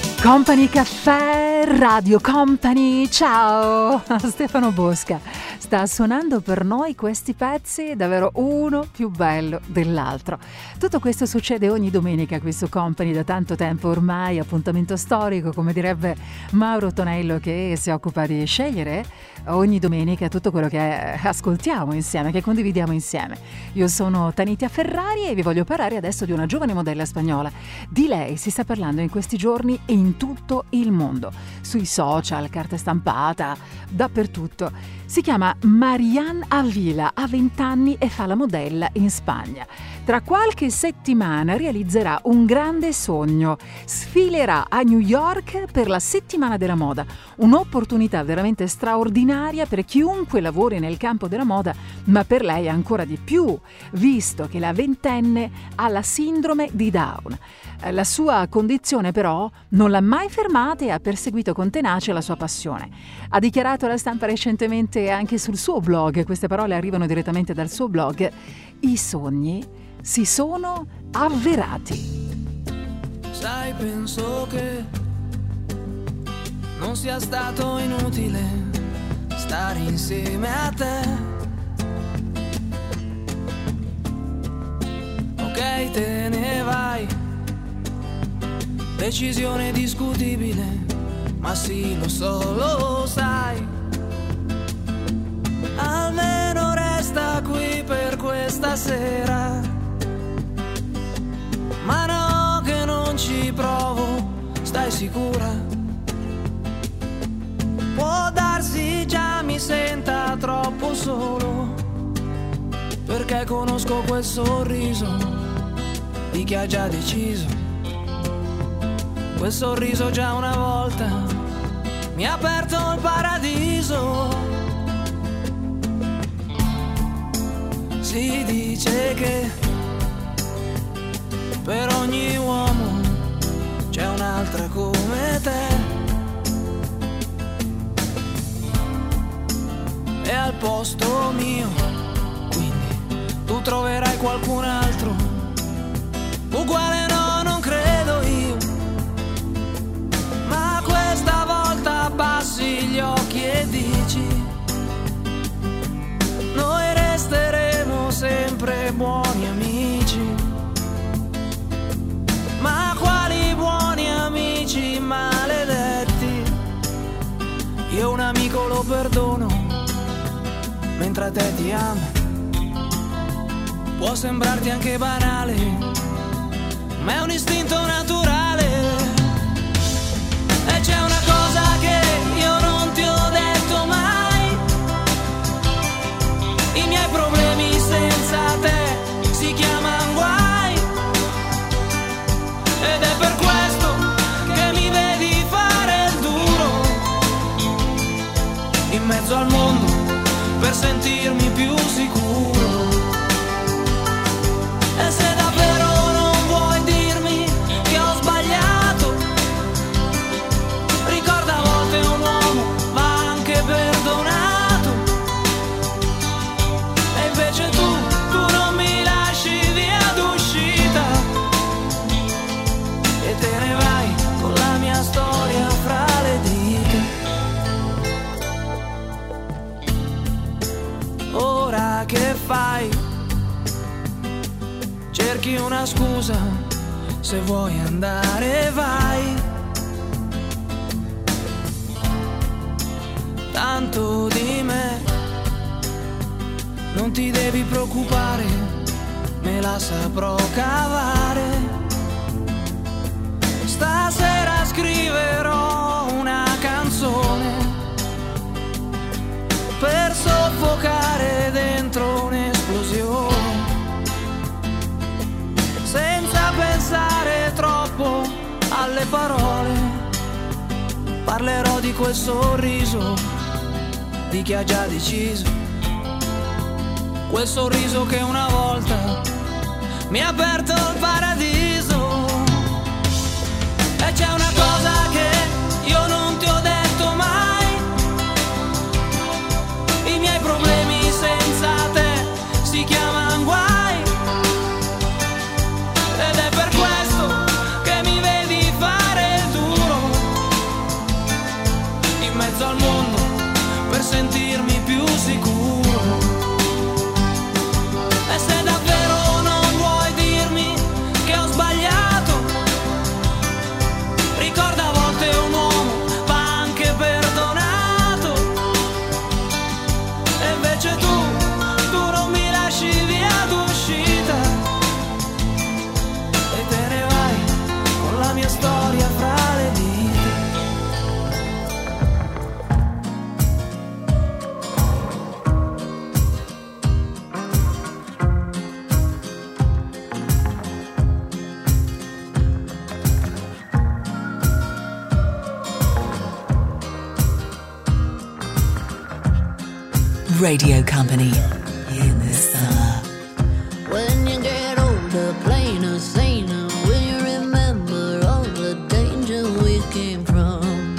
Company Caffè, Radio Company, ciao! Stefano Bosca. sta suonando per noi questi pezzi, davvero uno più bello dell'altro. Tutto questo succede ogni domenica qui su Company da tanto tempo ormai, appuntamento storico, come direbbe Mauro Tonello, che si occupa di scegliere ogni domenica tutto quello che ascoltiamo insieme, che condividiamo insieme. Io sono Tanitia Ferrari e vi voglio parlare adesso di una giovane modella spagnola. Di lei si sta parlando in questi giorni e in tutto il mondo, sui social, carta stampata, dappertutto. Si chiama Marianne Avila, ha venti anni e fa la modella in Spagna. Tra qualche settimana realizzerà un grande sogno, sfilerà a New York per la settimana della moda, un'opportunità veramente straordinaria per chiunque lavori nel campo della moda, ma per lei ancora di più, visto che la ventenne ha la sindrome di Down. La sua condizione però non l'ha mai fermata e ha perseguito con tenacia la sua passione. Ha dichiarato alla stampa recentemente anche sul suo blog, queste parole arrivano direttamente dal suo blog: i sogni si sono avverati. Sai, penso che non sia stato inutile stare insieme a te. Ok, te ne vai, decisione discutibile, ma sì, lo so, lo sai. Almeno resta qui per questa sera. Ma no, che non ci provo, stai sicura? Può darsi già mi senta troppo solo, perché conosco quel sorriso di chi ha già deciso. Quel sorriso già una volta mi ha aperto il paradiso. Si dice che per ogni uomo c'è un'altra come te, e al posto mio quindi tu troverai qualcun altro uguale. No, non credo io, ma questa volta abbassi gli occhi e dici: noi resteremo sempre buoni amici. Ma quali buoni amici maledetti? Io un amico lo perdono, mentre a te ti amo. Può sembrarti anche banale, ma è un istinto naturale. E c'è una cosa che io non ti ho detto mai: i miei problemi senza te si chiamano guai. Ed è per questo che mi vedi fare il duro in mezzo al mondo per sentirmi più sicuro. E se davvero non vuoi dirmi che ho sbagliato, ricorda a volte un uomo va anche perdonato. E invece tu, tu non mi lasci via d'uscita e te ne vai con la mia storia fra le dita. Ora che fai? Cerchi una scusa, se vuoi andare vai. Tanto di me non ti devi preoccupare, me la saprò cavare. Stasera scriverò una canzone per soffocare dentro un'esplosione, senza pensare troppo alle parole. Parlerò di quel sorriso di chi ha già deciso, quel sorriso che una volta mi ha aperto il paradiso. E c'è una cosa che io non ti ho detto mai: i miei problemi senza te si chiamano guai. Ed è per questo che mi vedi fare il duro in mezzo al mondo per sentirmi sentirmi più sicuro. E se davvero non vuoi dirmi che ho sbagliato, ricorda a volte un uomo va anche perdonato. E invece tu, tu non mi lasci via d'uscita e te ne vai con la mia storia fra le dita. Radio Company in the summer. When you get older, plainer, saner, will you remember all the danger we came from?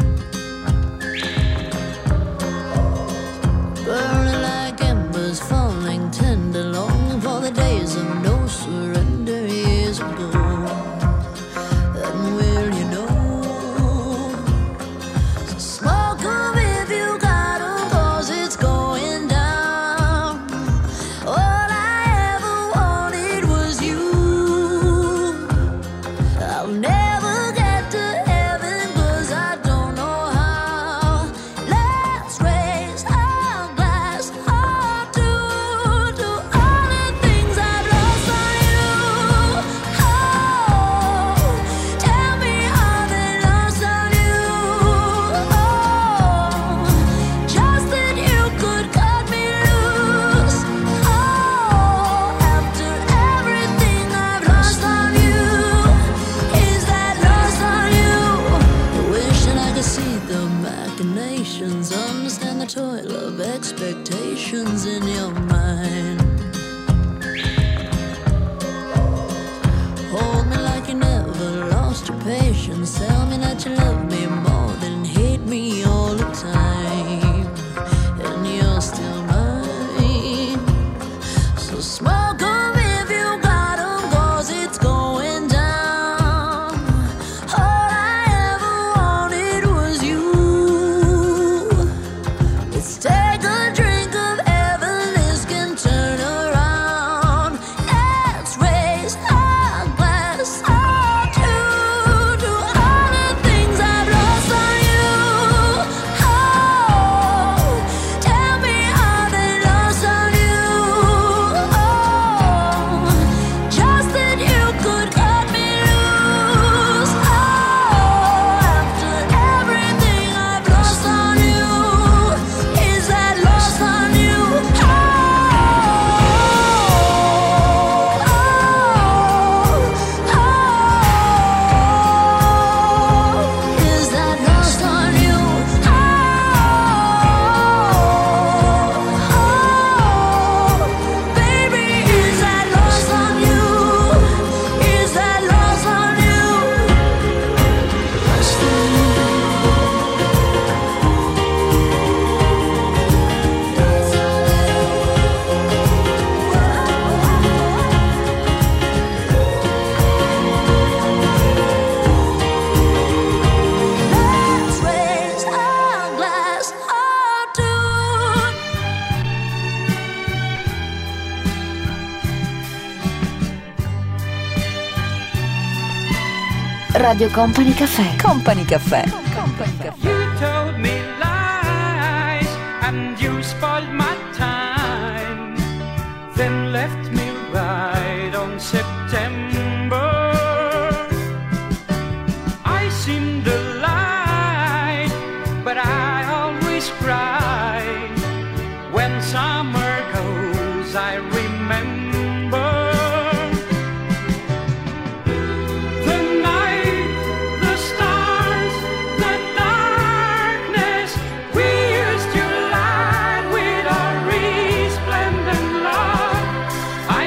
Burning like embers, falling tender, longing for the days of no surrender years ago. And will you know? So smoke 'em if you got 'em, 'cause it's going down. All I ever wanted was you. I'll never get to heaven 'cause I don't know how. Let's raise our glass or two to all the things I've lost on you. Oh, tell me how they lost on you. Oh, just that you could cut me loose. Oh, after everything I've lost on you, is that lost on you? Wishing I could see the machinations, understand the toil of expectations in your mind. Hold me like you never lost your patience. Tell me that you love me more than hate me all the time. And you're still mine. So smoke 'em if you got 'em, 'cause it's going down. All I ever wanted was you. Let's take a drink of heaven, this can turn around. Let's raise our glass or two to all the things I've lost on you. Oh, tell me how they lost on you. Oh, just that you could cut me loose. Oh, after everything I've lost on you, is that lost on you? Oh, oh, is that lost on you? Oh, baby, is that lost on you? Is that lost on you? Lost on Let's raise our glass or two. Radio Company Cafè. Company Cafè. Company Cafè. You told me lies and you spoiled my time, then left me right on September. I seem to lie, but I always cry when summer goes. I remember the night, the stars, the darkness. We used to lie with our resplendent love. I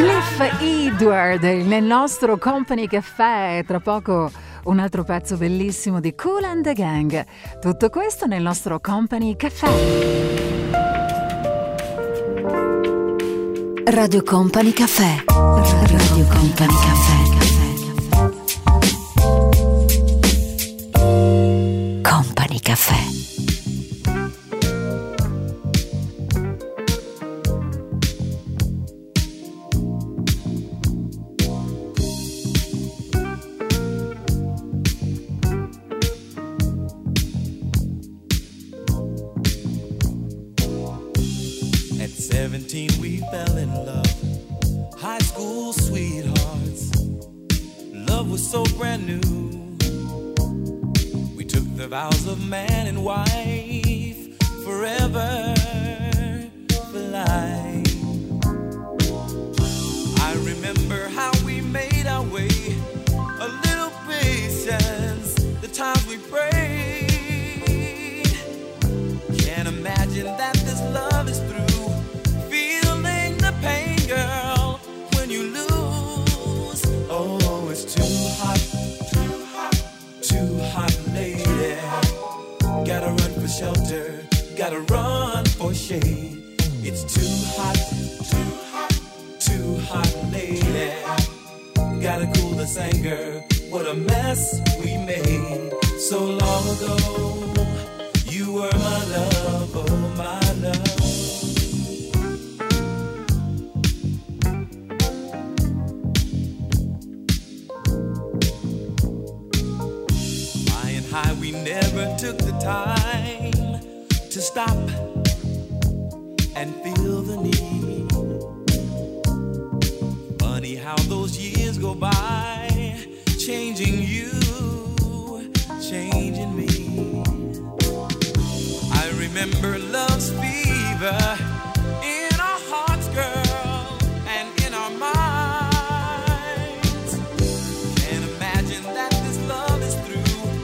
Cliff Edward nel nostro Company Café. Tra poco un altro pezzo bellissimo di Kool and the Gang. Tutto questo nel nostro Company Café. Radio Company Café. Radio Company Café. Company Café. seventeen we fell in love, high school sweethearts. Love was so brand new. We took the vows of man and wife, forever for life. I remember how we made our way, a little patience, the times we prayed. Can't imagine that this love is through. Pain, girl, when you lose. Oh, it's too hot, too hot, too hot, lady. Gotta run for shelter, gotta run for shade. It's too hot, too hot, too hot, lady. Gotta cool this anger. What a mess we made so long ago. You were my love, oh my love. High, we never took the time to stop and feel the need. Funny how those years go by, changing you, changing me. I remember love's fever in our hearts, girl, and in our minds. Can't imagine that this love is through.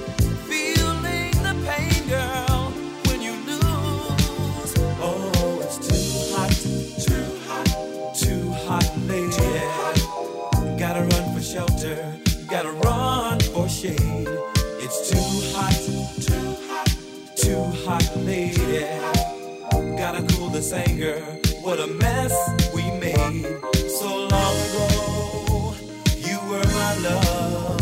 Girl, when you lose, oh, it's too hot, too hot, too hot, lady. Gotta run for shelter, gotta run for shade. It's too hot, too hot, too hot, lady. Gotta cool this anger. What a mess we made so long ago. You were my love.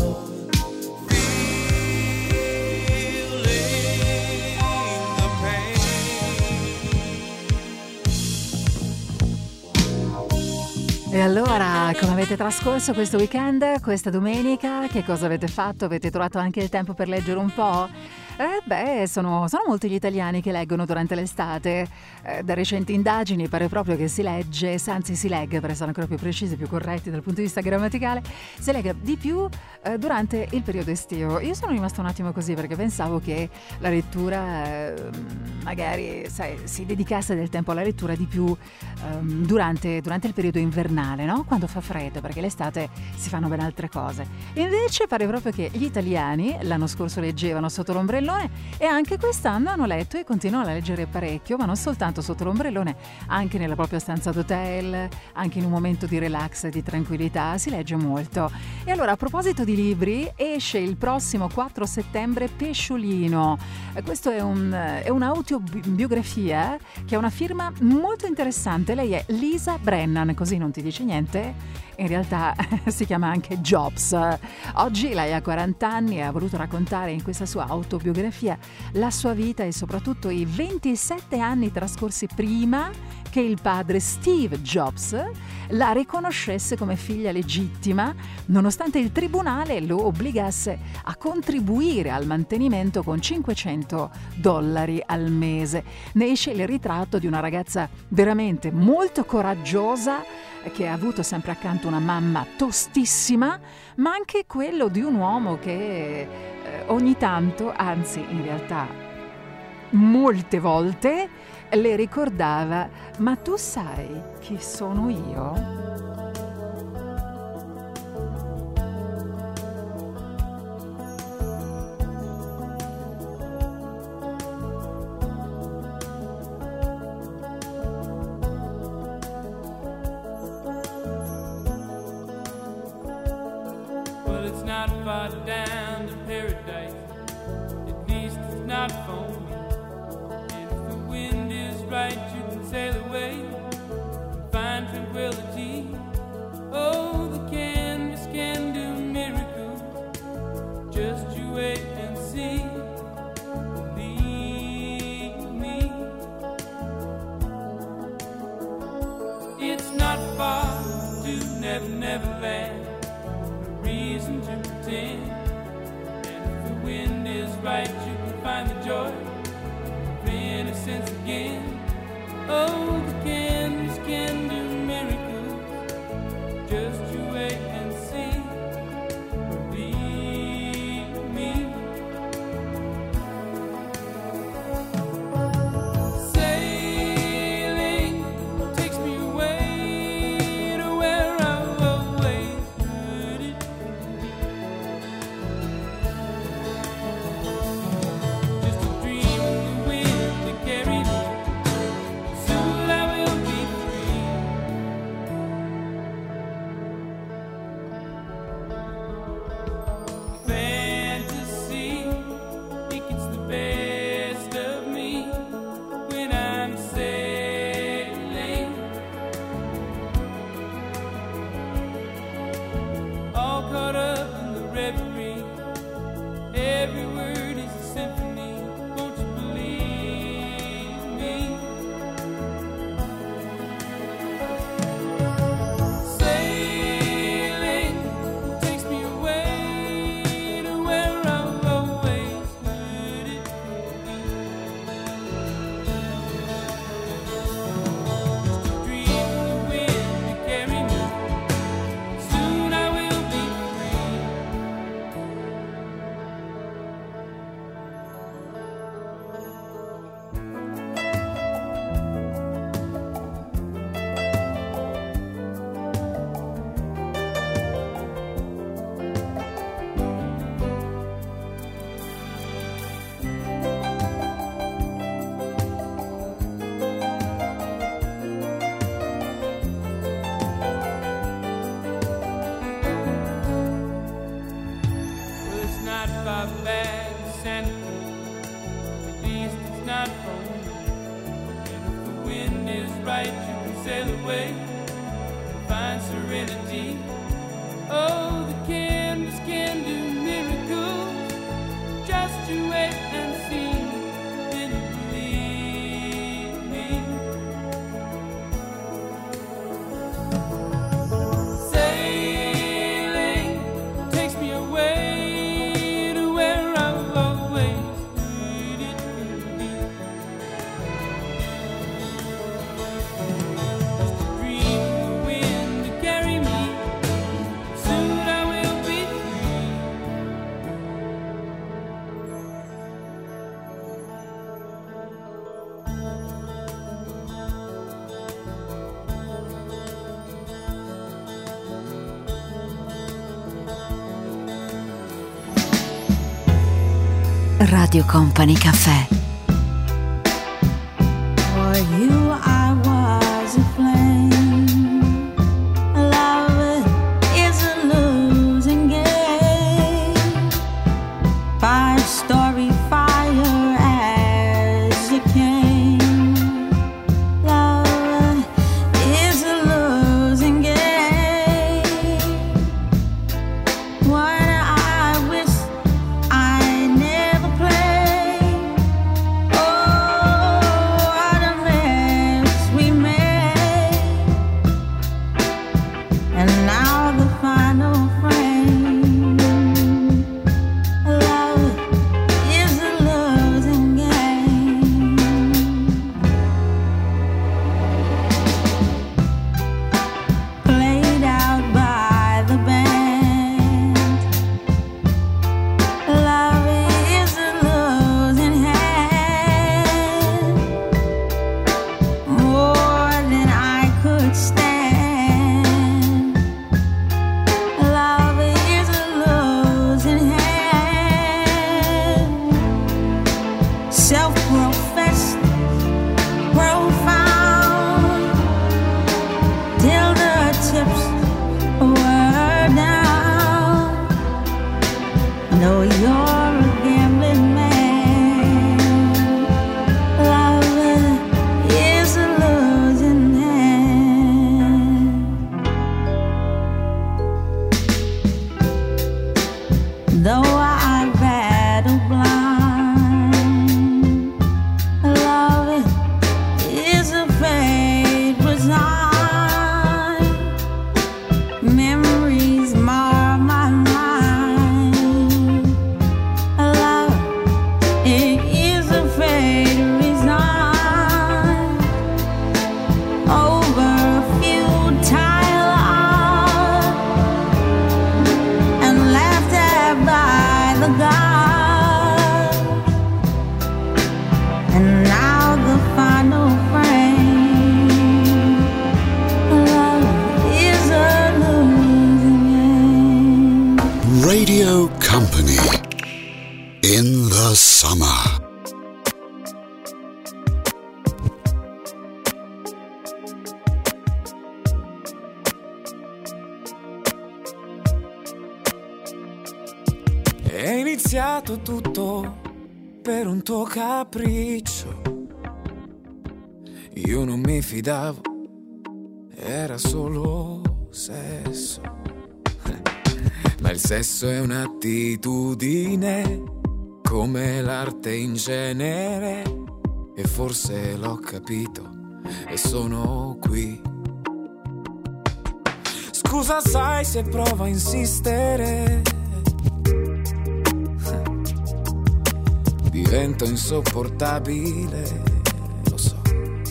E allora, come avete trascorso questo weekend, questa domenica? Che cosa avete fatto? Avete trovato anche il tempo per leggere un po'? Eh beh, sono, sono molti gli italiani che leggono durante l'estate. Eh, da recenti indagini pare proprio che si legge, anzi si legga, per essere ancora più precisi, più corretti dal punto di vista grammaticale, si legga di più eh, durante il periodo estivo. Io sono rimasta un attimo così perché pensavo che la lettura eh, magari sai, si dedicasse del tempo alla lettura di più ehm, durante, durante il periodo invernale, no? Quando fa freddo, perché l'estate si fanno ben altre cose. Invece pare proprio che gli italiani l'anno scorso leggevano sotto l'ombrellone e anche quest'anno hanno letto e continuano a leggere parecchio, ma non soltanto sotto l'ombrellone, anche nella propria stanza d'hotel, anche in un momento di relax e di tranquillità si legge molto. E allora, a proposito di libri, esce il prossimo quattro settembre Pesciolino. Questo è, un, è un'autobiografia che ha una firma molto interessante. Lei è Lisa Brennan, così non ti dice niente? In realtà si chiama anche Jobs. Oggi lei ha quaranta anni e ha voluto raccontare in questa sua autobiografia la sua vita e soprattutto i ventisette anni trascorsi prima che il padre Steve Jobs la riconoscesse come figlia legittima, nonostante il tribunale lo obbligasse a contribuire al mantenimento con cinquecento dollari al mese. Ne esce il ritratto di una ragazza veramente molto coraggiosa che ha avuto sempre accanto una mamma tostissima, ma anche quello di un uomo che eh, ogni tanto, anzi in realtà molte volte, le ricordava: ma tu sai chi sono io? not far down to paradise. At least it's not for me. And if the wind is right, you can sail away and find tranquility. Oh, the canvas can do miracles. Just you wait and see. Believe me. It's not far to Never Never Land. No reason to pretend. And if the wind is right, you can find the joy of innocence again. Oh, the canvas can do miracles. Just you wait and see. Believe me. Sailing takes me away to where I've always heard it. Just a dream of the wind to carry me. Soon I will be free. Fantasy, think it's the best of me when I'm sailing. All caught up in the reverie. Every word is a symphony. Won't you believe me? Sailing takes me away to where I've always heard it. Just a dream of the wind to carry me. Soon I will be free. Well, it's not far back to Santa Cruz. At least it's not for me. And if the wind is right, you can sail away and find serenity. Oh, the canvas can do miracles. Just you wait and see. Then you believe me. Sailing takes me away to where I've always heard it could be. Just a dream of the wind to carry me. Soon I will be free. Radio Company Café. For you I was a flame. Love is a losing game. Five story fire as you came. Love is a losing game. One I wish I never played. Oh, what a mess we made. And now the final frame. Love is a losing game. Played out by the band. Love is a losing hand. More than I could stand. Love is a losing hand. Self-professed, profound, till the tips were down. Company in the summer. È iniziato tutto per un tuo capriccio. Io non mi fidavo, era solo sesso. Ma il sesso è un'attitudine, come l'arte in genere. E forse l'ho capito e sono qui. Scusa, sai se provo a insistere, divento insopportabile, lo so.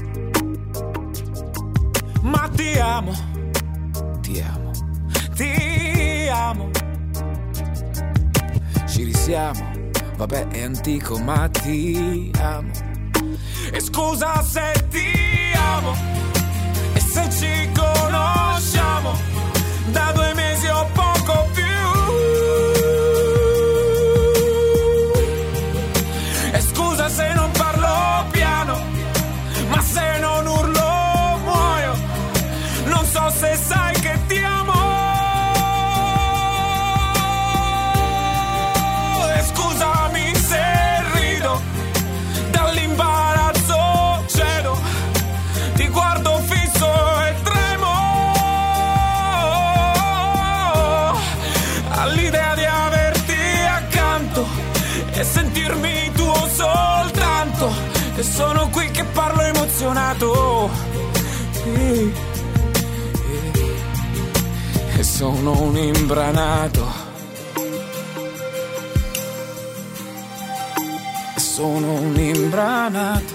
Ma ti amo, ti amo, ti amo. Ci risiamo, vabbè è antico ma ti amo. E scusa se ti amo, e se ci conosciamo da due mesi o poco più. E scusa se non parlo piano, ma se non urlo muoio. Non so se sai che ti amo. E scusami se rido, dall'imbarazzo cedo, ti guardo fisso e tremo all'idea di averti accanto e sentirmi tuo soltanto. E sono qui che parlo emozionato, e, e sono un imbranato, e sono un imbranato.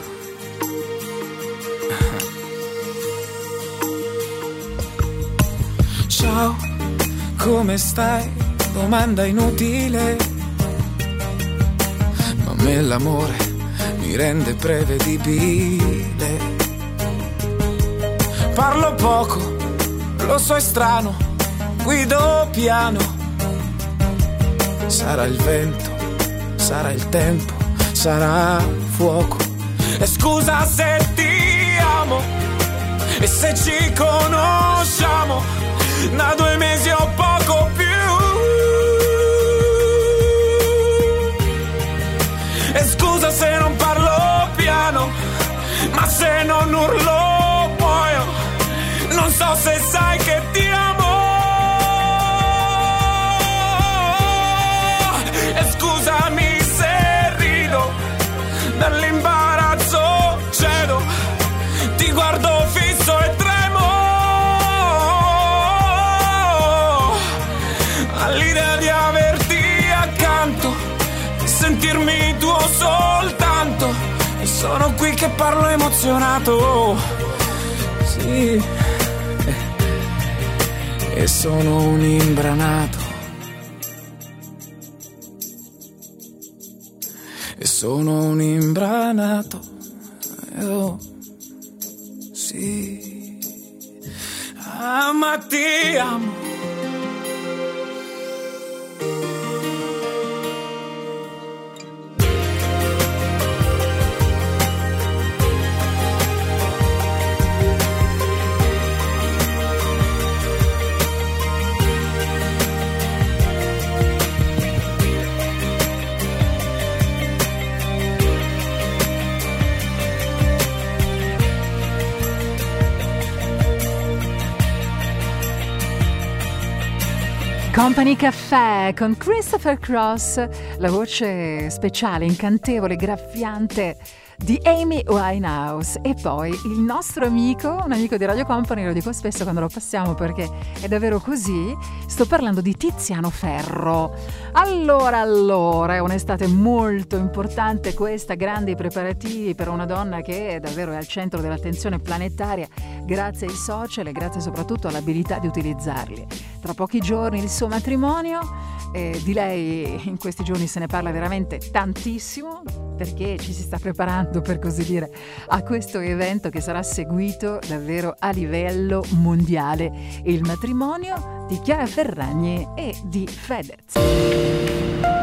Ciao, come stai? Domanda inutile, ma a me l'amore mi rende prevedibile. Parlo poco, lo so è strano, guido piano. Sarà il vento, sarà il tempo, sarà fuoco. E scusa se ti amo, e se ci conosciamo da due mesi o poco più. E scusa se non parlo piano, ma se non urlo muoio. Non so se sai che ti amo. E scusami se rido, dall'imbarazzo cedo, ti guardo fisso e tremo all'idea di averti accanto, sentirmi tuo soltanto. E sono qui che parlo emozionato, sì, e sono un imbranato, e sono un imbranato, oh, sì, ah, ma ti amo. Company Cafè con Christopher Cross, la voce speciale, incantevole, graffiante di Amy Winehouse. E poi il nostro amico, un amico di Radio Company, lo dico spesso quando lo passiamo perché è davvero così, sto parlando di Tiziano Ferro. Allora, allora, è un'estate molto importante questa, grandi preparativi per una donna che davvero è al centro dell'attenzione planetaria grazie ai social e grazie soprattutto all'abilità di utilizzarli. Tra pochi giorni il suo matrimonio, eh, di lei in questi giorni se ne parla veramente tantissimo perché ci si sta preparando, per così dire, a questo evento che sarà seguito davvero a livello mondiale, il matrimonio di Chiara Ferragni e di Fedez.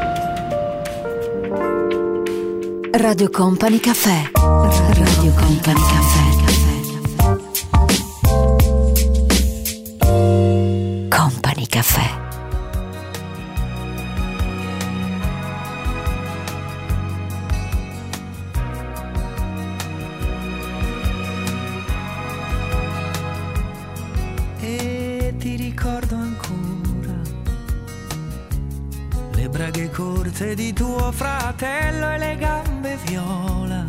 Radio Company Cafè. Radio Company Cafè. Company Cafè. E ti ricordo ancora le braghe corte di tuo fratello e le gambe viola,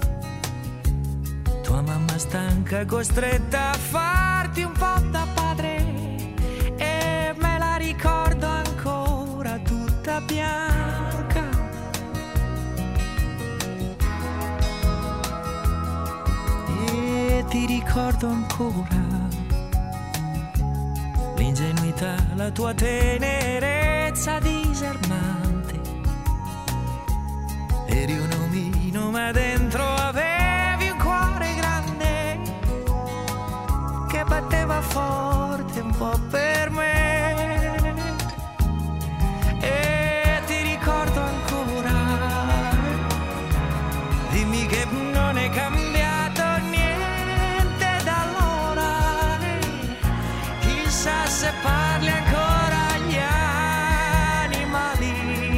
tua mamma stanca costretta a farti un po' da padre, e me la ricordo ancora tutta bianca. E ti ricordo ancora l'ingenuità, la tua tenerezza disarmante. Eri un omino ma dentro avevi un cuore grande che batteva forte un po' per me. E ti ricordo ancora, dimmi che non è cambiato niente da allora, chissà se parli ancora agli animali,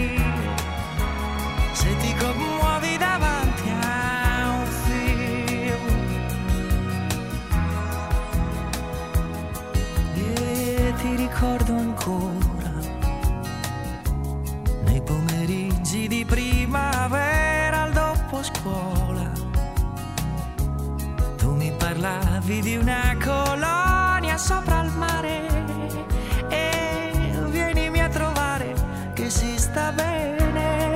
se ti commuovi davanti a un film. E ti ricordo ancora nei pomeriggi di primavera al dopo scuola, tu mi parlavi di una colonia sopra il mare, e vienimi a trovare che si sta bene.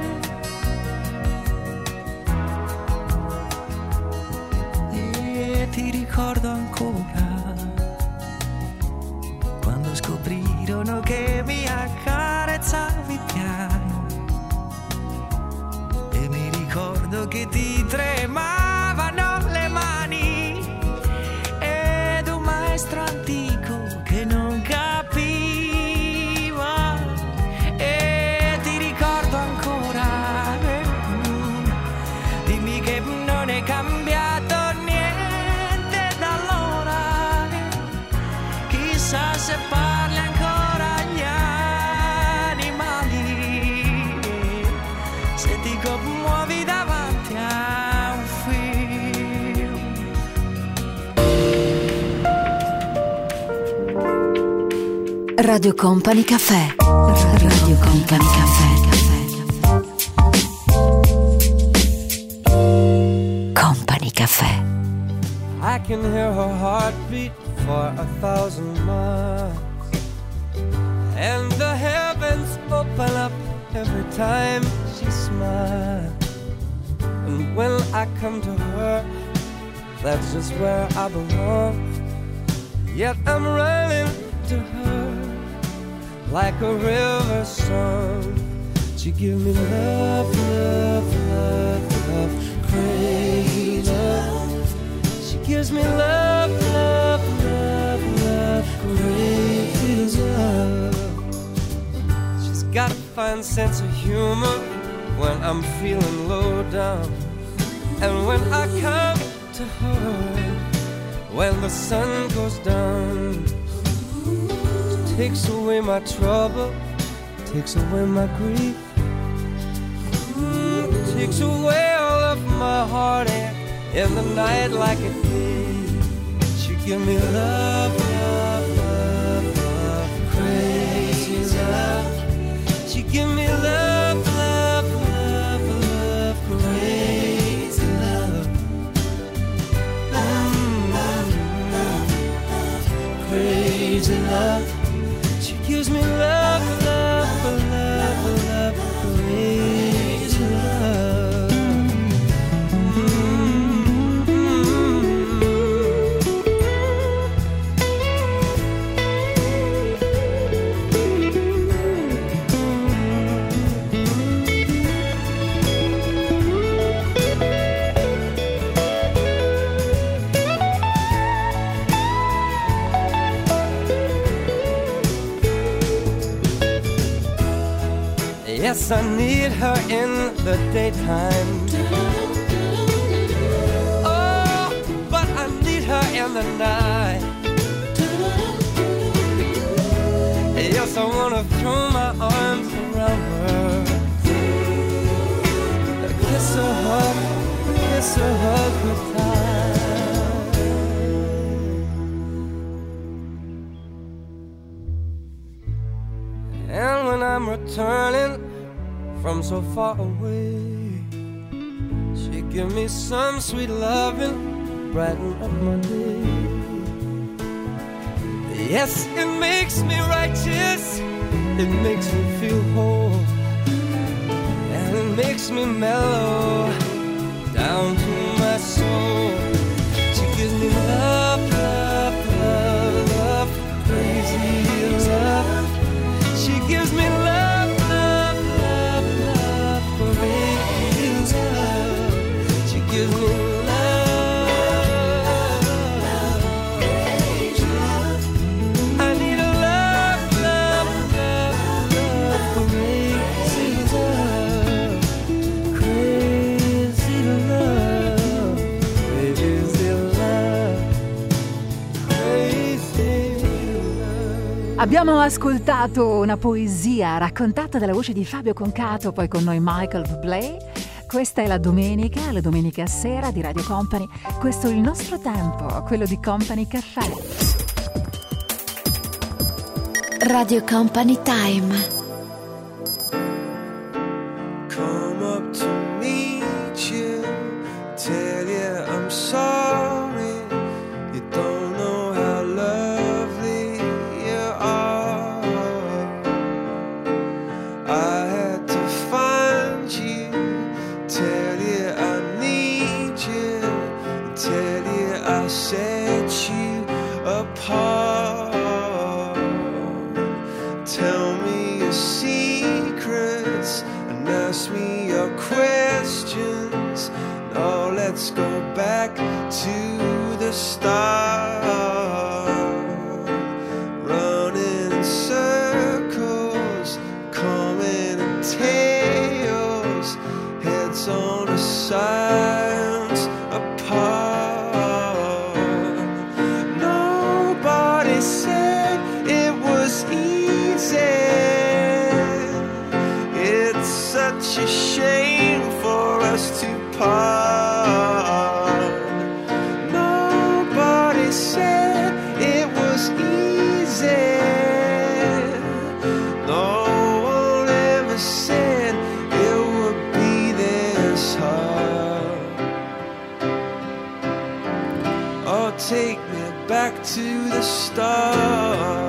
E ti ricordo ancora quando scoprirono che mi accarezzavi piano, e mi ricordo che ti tremavano le mani, ed un maestro antico che non capiva. E ti ricordo ancora, eh, dimmi che non è cambiato niente da allora, chissà se parli ancora agli animali, se ti commuovi davanti a un film. Radio Company Cafè. Radio Company Cafè. Company Cafè. I can hear her heartbeat for a thousand miles, and the heavens open up every time she smiles. And when I come to her, that's just where I belong. Yet I'm running to her like a river song. She give me love, love, love, love, crazy love. She gives me love, love, love, love, crazy love. She's got a fine sense of humor when I'm feeling low down, and when I come to her when the sun goes down. She takes away my trouble, takes away my grief, mm, takes away all of my heartache in the night like a thief. She give me love, love, love, love, crazy love. She give me love, love, love, love, crazy love. Mm-hmm. Crazy love. She gives me love, love, love, love, crazy love. Yes, I need her in the daytime. Oh, but I need her in the night. Yes, I wanna throw my arms around her, kiss her, hug, kiss her, hug her tight. And when I'm returning from so far away, she give me some sweet loving, brighten up my day. Yes, it makes me righteous, it makes me feel whole, and it makes me mellow down to my soul. She gives me love, love, love, love, crazy love. She gives me love, love, love, love, crazy love. She gives me love. Abbiamo ascoltato una poesia raccontata dalla voce di Fabio Concato, poi con noi Michael Bublé. Questa è la domenica, la domenica sera di Radio Company. Questo è il nostro tempo, quello di Company Caffè. Radio Company Time. Come up to meet you, tell you I'm sorry. You don't know how lovely you are. I had to find you, tell you I need you, tell you I set you apart. Tell me your secrets and ask me your questions. Now let's go back to the start. Running in circles, coming in tails, heads on the sides apart. Nobody said it was easy. It's such a shame for us to part. Nobody said it was easy. No one ever said it would be this hard. Oh, take me back to the start.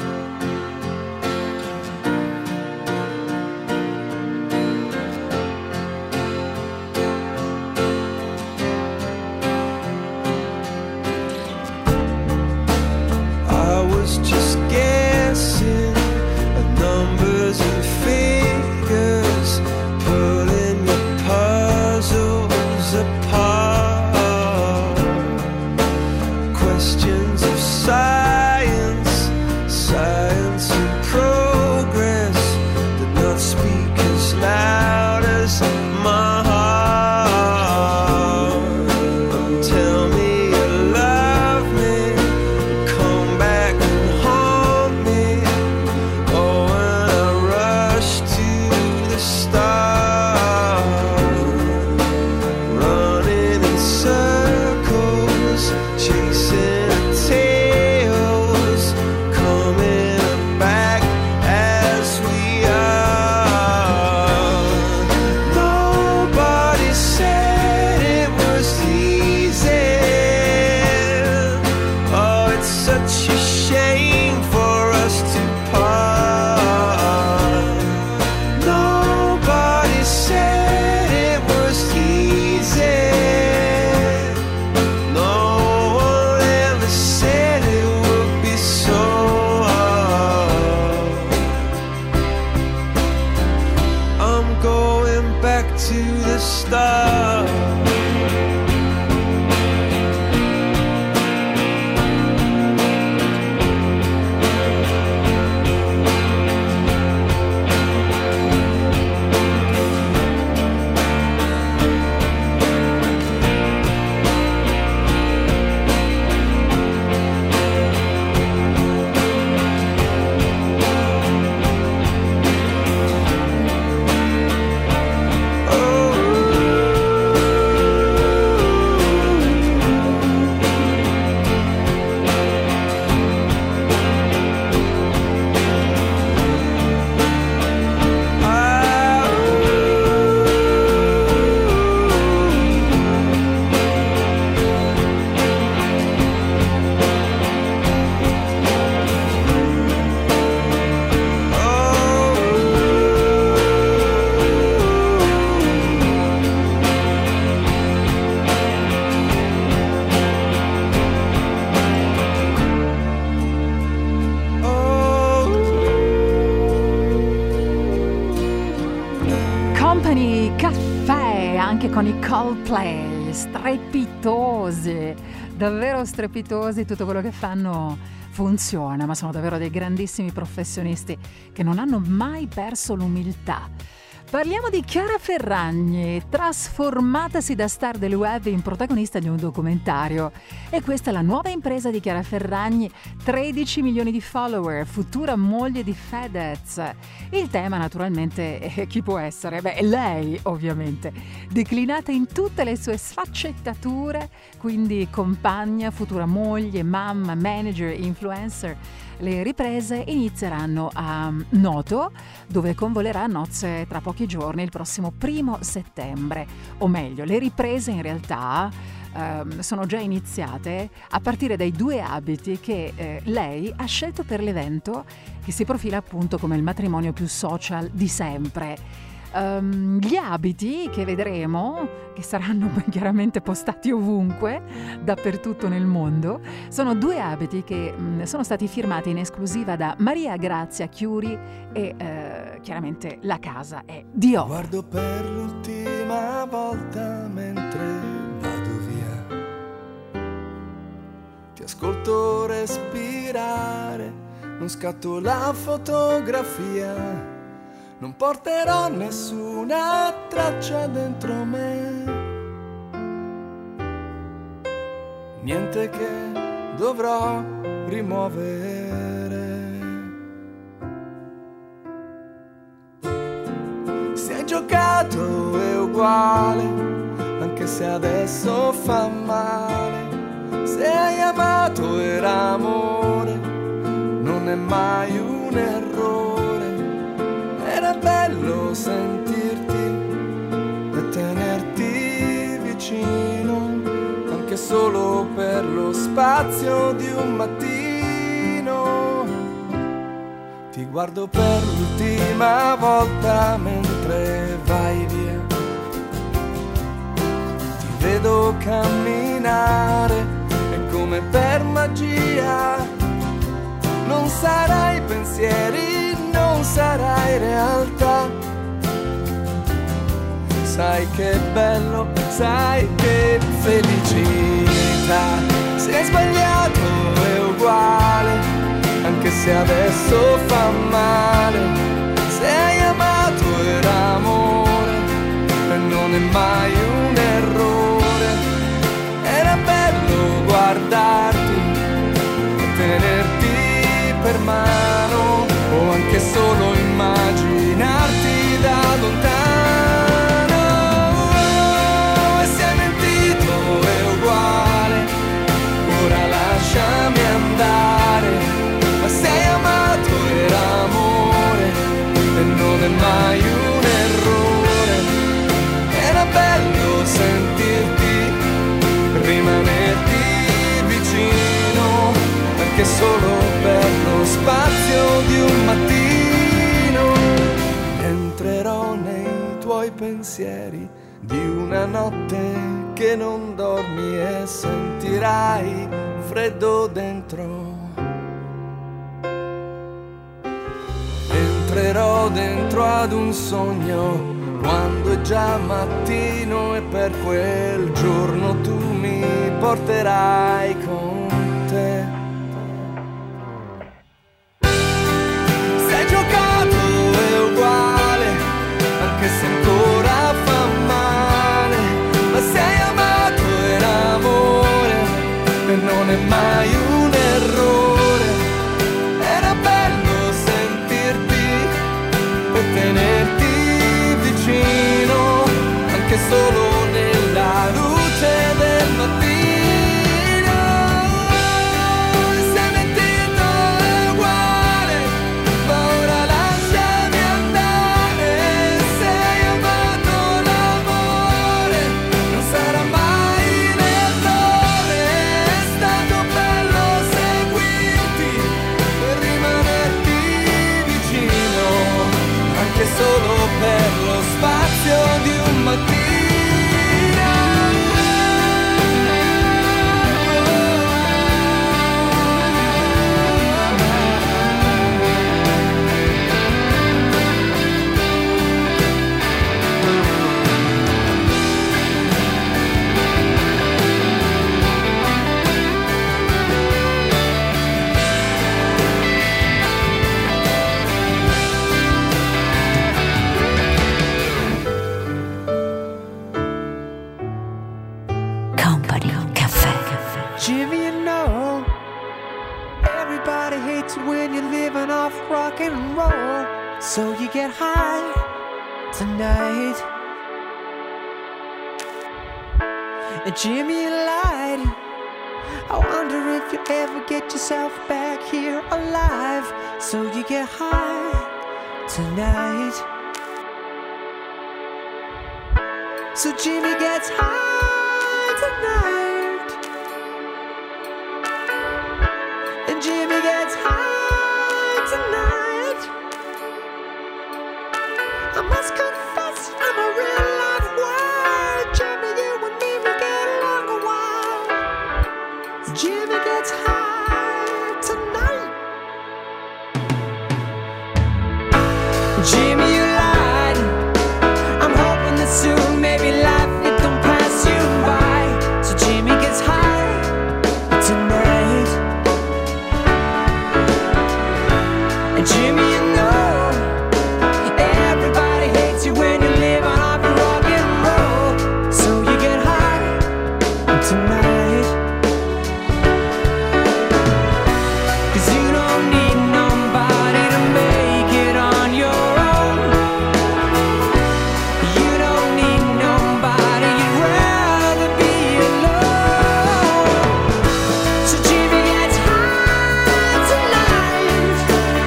Just guessing at numbers and figures, pulling your puzzles apart. Questions of science anche con i Coldplay, strepitosi, davvero strepitosi, tutto quello che fanno funziona, ma sono davvero dei grandissimi professionisti che non hanno mai perso l'umiltà. Parliamo di Chiara Ferragni, trasformatasi da star del web in protagonista di un documentario. E questa è la nuova impresa di Chiara Ferragni, tredici milioni di follower, futura moglie di Fedez. Il tema naturalmente è chi può essere? Beh, lei ovviamente, declinata in tutte le sue sfaccettature, quindi compagna, futura moglie, mamma, manager, influencer. Le riprese inizieranno a Noto, dove convolerà a nozze tra pochi giorni, il prossimo primo settembre. O meglio, le riprese in realtà ehm, sono già iniziate a partire dai due abiti che eh, lei ha scelto per l'evento, che si profila appunto come il matrimonio più social di sempre. Um, gli abiti che vedremo, che saranno chiaramente postati ovunque, dappertutto nel mondo, sono due abiti che mh, sono stati firmati in esclusiva da Maria Grazia Chiuri e uh, chiaramente la casa è Dior. Guardo per l'ultima volta mentre vado via, ti ascolto respirare, non scatto la fotografia. Non porterò nessuna traccia dentro me, niente che dovrò rimuovere. Se hai giocato è uguale, anche se adesso fa male. Se hai amato era amore, non è mai un errore. Era bello sentirti e tenerti vicino, anche solo per lo spazio di un mattino. Ti guardo per l'ultima volta mentre vai via, ti vedo camminare e come per magia non sarai pensieri, non sarai realtà. Sai che bello, sai che felicità. Se hai sbagliato è uguale, anche se adesso fa male. Se hai amato era amore e non è mai un errore. Era bello guardarti e tenerti per mano, o anche solo immaginarti da lontano. E se hai mentito è uguale, ora lasciami andare. Ma se hai amato era amore e non è mai un errore. Era bello sentirti, rimanerti vicino, anche solo per lo spazio di un mattino. Entrerò nei tuoi pensieri di una notte che non dormi e sentirai freddo dentro. Entrerò dentro ad un sogno quando è già mattino e per quel giorno tu mi porterai con te. Anche se ancora fa male, ma se hai amato era amore e non è mai un errore. Era bello sentirti e tenerti vicino, anche solo nella luce del mattino. Everybody hates you when you're living off rock and roll. So you get high tonight. And Jimmy, you lied. I wonder if you ever get yourself back here alive. So you get high tonight. So Jimmy gets high tonight. And Jimmy gets high tonight. I must confess, I'm a real life wild. Jimmy, you and me, we get along a while. Jimmy gets high tonight. Jimmy, you lied. I'm hoping that soon, maybe life it don't pass you by. So Jimmy gets high tonight. And Jimmy, you know, everybody hates you when you live on off rock and roll. So you get high tonight. 'Cause you don't need nobody to make it on your own. You don't need nobody, you'd rather be alone. So Jimmy gets high tonight.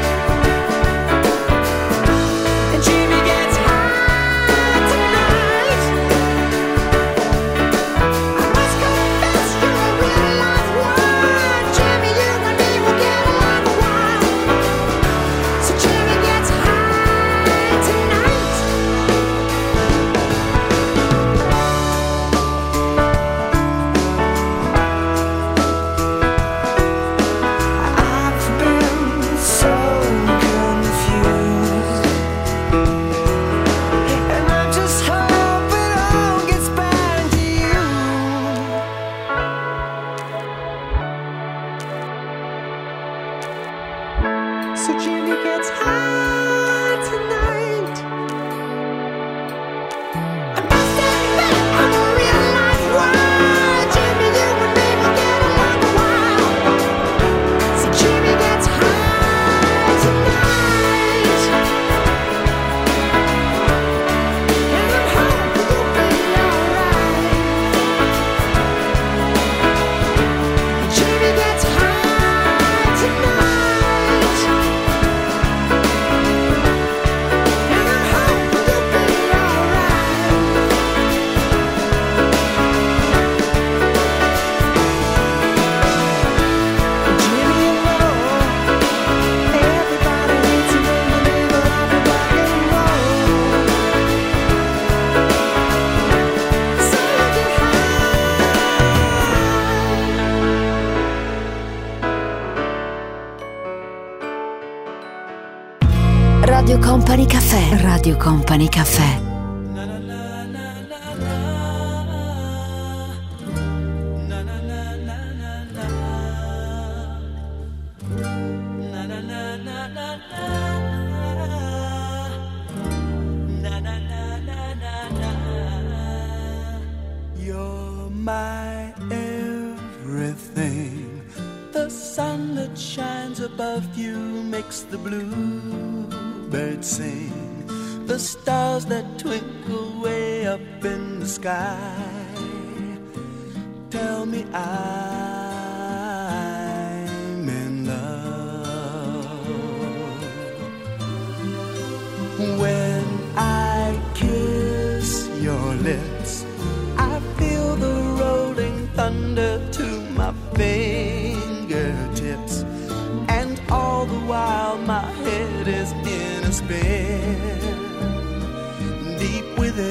And Jimmy gets high tonight. I must confess, you're a real life wild. Jimmy, you and me will get along a while. So Jimmy gets high tonight. I've been so confused, and I just hope it all gets back to you. So Jimmy gets high tonight. I must admit, I'm a real life wild. Jimmy, you and me will get along a while. So Jimmy gets high tonight. And I'm hoping you'll be alright. Jimmy gets high tonight. And I'm hoping you'll be alright. Jimmy, you know, everybody hates you when you live on rock and roll. So you get Radio Company Cafè. Radio Company Cafè. You're my everything. The sun that shines above you makes the bluebirds sing. The stars that twinkle way up in the sky tell me I'm in love. When I kiss your lips, I feel the rolling thunder to my fingertips, and all the while my head is in a spin. Deep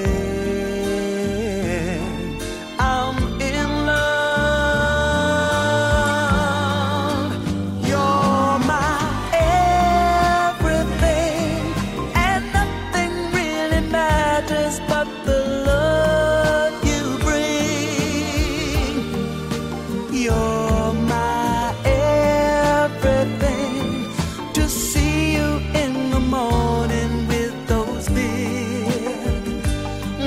within, I'm in love. You're my everything, and nothing really matters but the love you bring. You're my everything. To see you in the morning with those big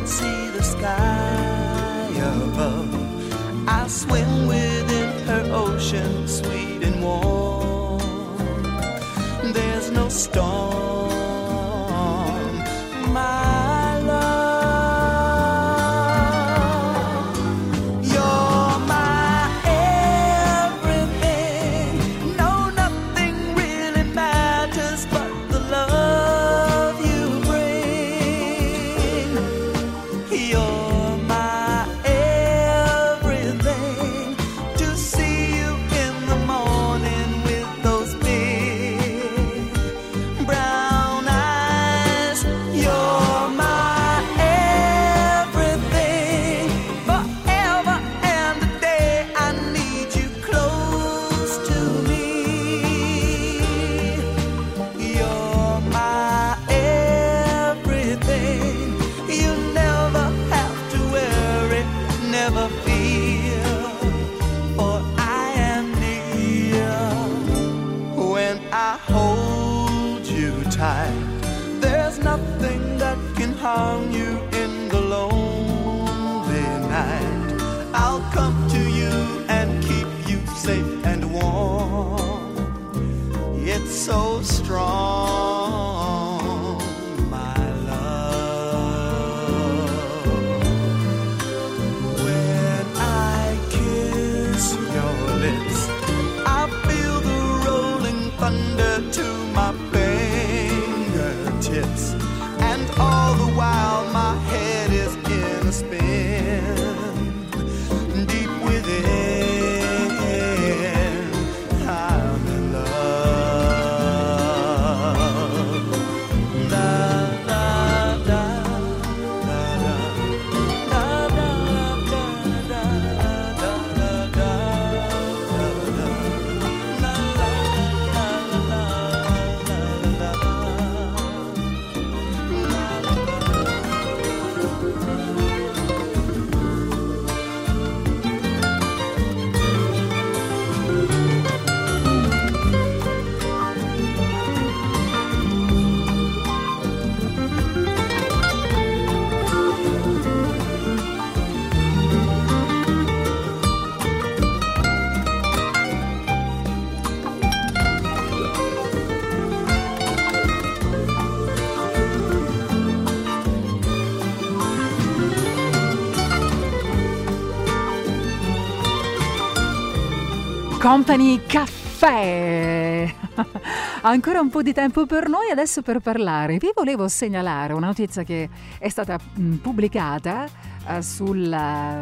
see the sky above. I swim within her ocean, sweet and warm. There's no storm, my love. You're my everything. No, nothing really matters but the love you bring. You're my everything. To see you in the morning with those big brown eyes. You're my everything. Forever and a day I need you close to me. You're my everything. You never have to worry, never fear, for I am near. When I hold you tight, there's nothing that can harm you in the lonely night. I'll come to you and keep you safe and warm. It's so strong, my love. When I kiss your lips, I feel the rolling thunder to my fingertips, and all the while my head is in a spin. Deep within, I'm in love. Da, da, da, da, da. Da, da, da, da, da, da, da, da, da. La, la, la, la, la, la, la. Company Caffè. Ancora un po' di tempo per noi adesso per parlare. Vi volevo segnalare una notizia che è stata mh, pubblicata uh, sul,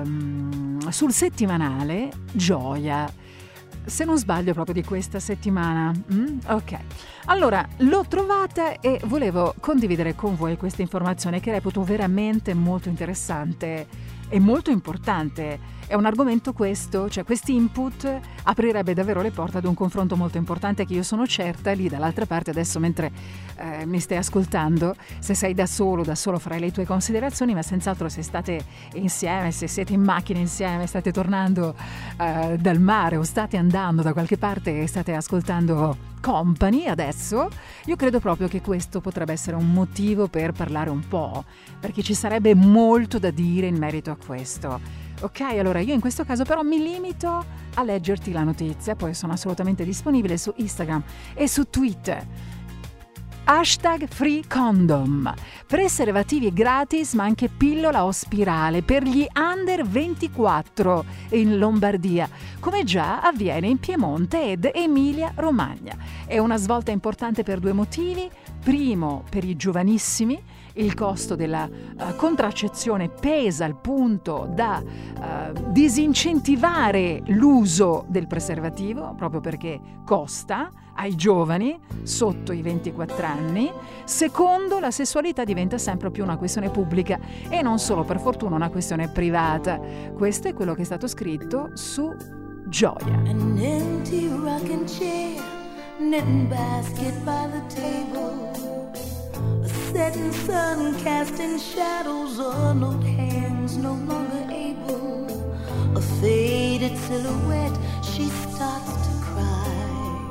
uh, sul settimanale Gioia. Se non sbaglio proprio di questa settimana. Mm? Ok. Allora, l'ho trovata e volevo condividere con voi questa informazione che reputo veramente molto interessante e molto importante. È un argomento questo, cioè questi input aprirebbe davvero le porte ad un confronto molto importante che io sono certa lì dall'altra parte adesso mentre eh, mi stai ascoltando, se sei da solo, da solo farai le tue considerazioni, ma senz'altro se state insieme, se siete in macchina insieme, state tornando eh, dal mare o state andando da qualche parte e state ascoltando Company adesso, io credo proprio che questo potrebbe essere un motivo per parlare un po', perché ci sarebbe molto da dire in merito a questo. Ok, allora io in questo caso però mi limito a leggerti la notizia, poi sono assolutamente disponibile su Instagram e su Twitter. Hashtag Free Condom. Preservativi gratis ma anche pillola o spirale per gli under ventiquattro in Lombardia, come già avviene in Piemonte ed Emilia Romagna. È una svolta importante per due motivi. Primo, per i giovanissimi, il costo della uh, contraccezione pesa al punto da uh, disincentivare l'uso del preservativo, proprio perché costa ai giovani sotto i ventiquattro anni. Secondo, la sessualità diventa sempre più una questione pubblica e non solo per fortuna una questione privata. Questo è quello che è stato scritto su Gioia. An empty rocking chair, knitting basket by the table, a setting sun casting shadows on old hands no longer able, a faded silhouette, she starts to cry.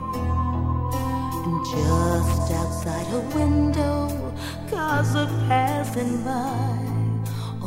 And just outside her window, cars are passing by.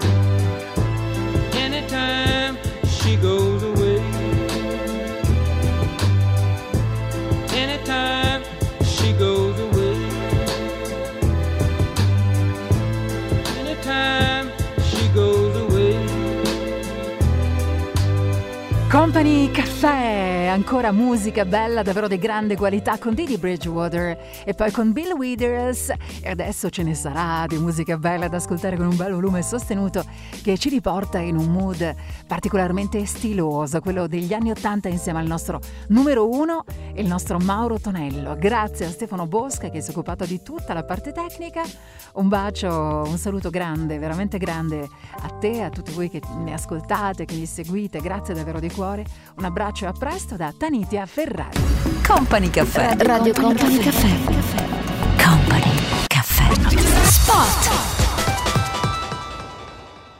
Caffè, ancora musica bella, davvero di grande qualità con Didi Bridgewater e poi con Bill Withers, e adesso ce ne sarà di musica bella da ascoltare con un bel volume sostenuto che ci riporta in un mood particolarmente stiloso, quello degli anni ottanta, insieme al nostro numero uno, il nostro Mauro Tonello. Grazie a Stefano Bosca che si è occupato di tutta la parte tecnica. Un bacio, un saluto grande, veramente grande a te, a tutti voi che mi ascoltate, che mi seguite, grazie davvero di cuore. Un abbraccio e a presto da Tanitia Ferrari. Company Caffè. Radio Company Caffè. Company Caffè. Spot.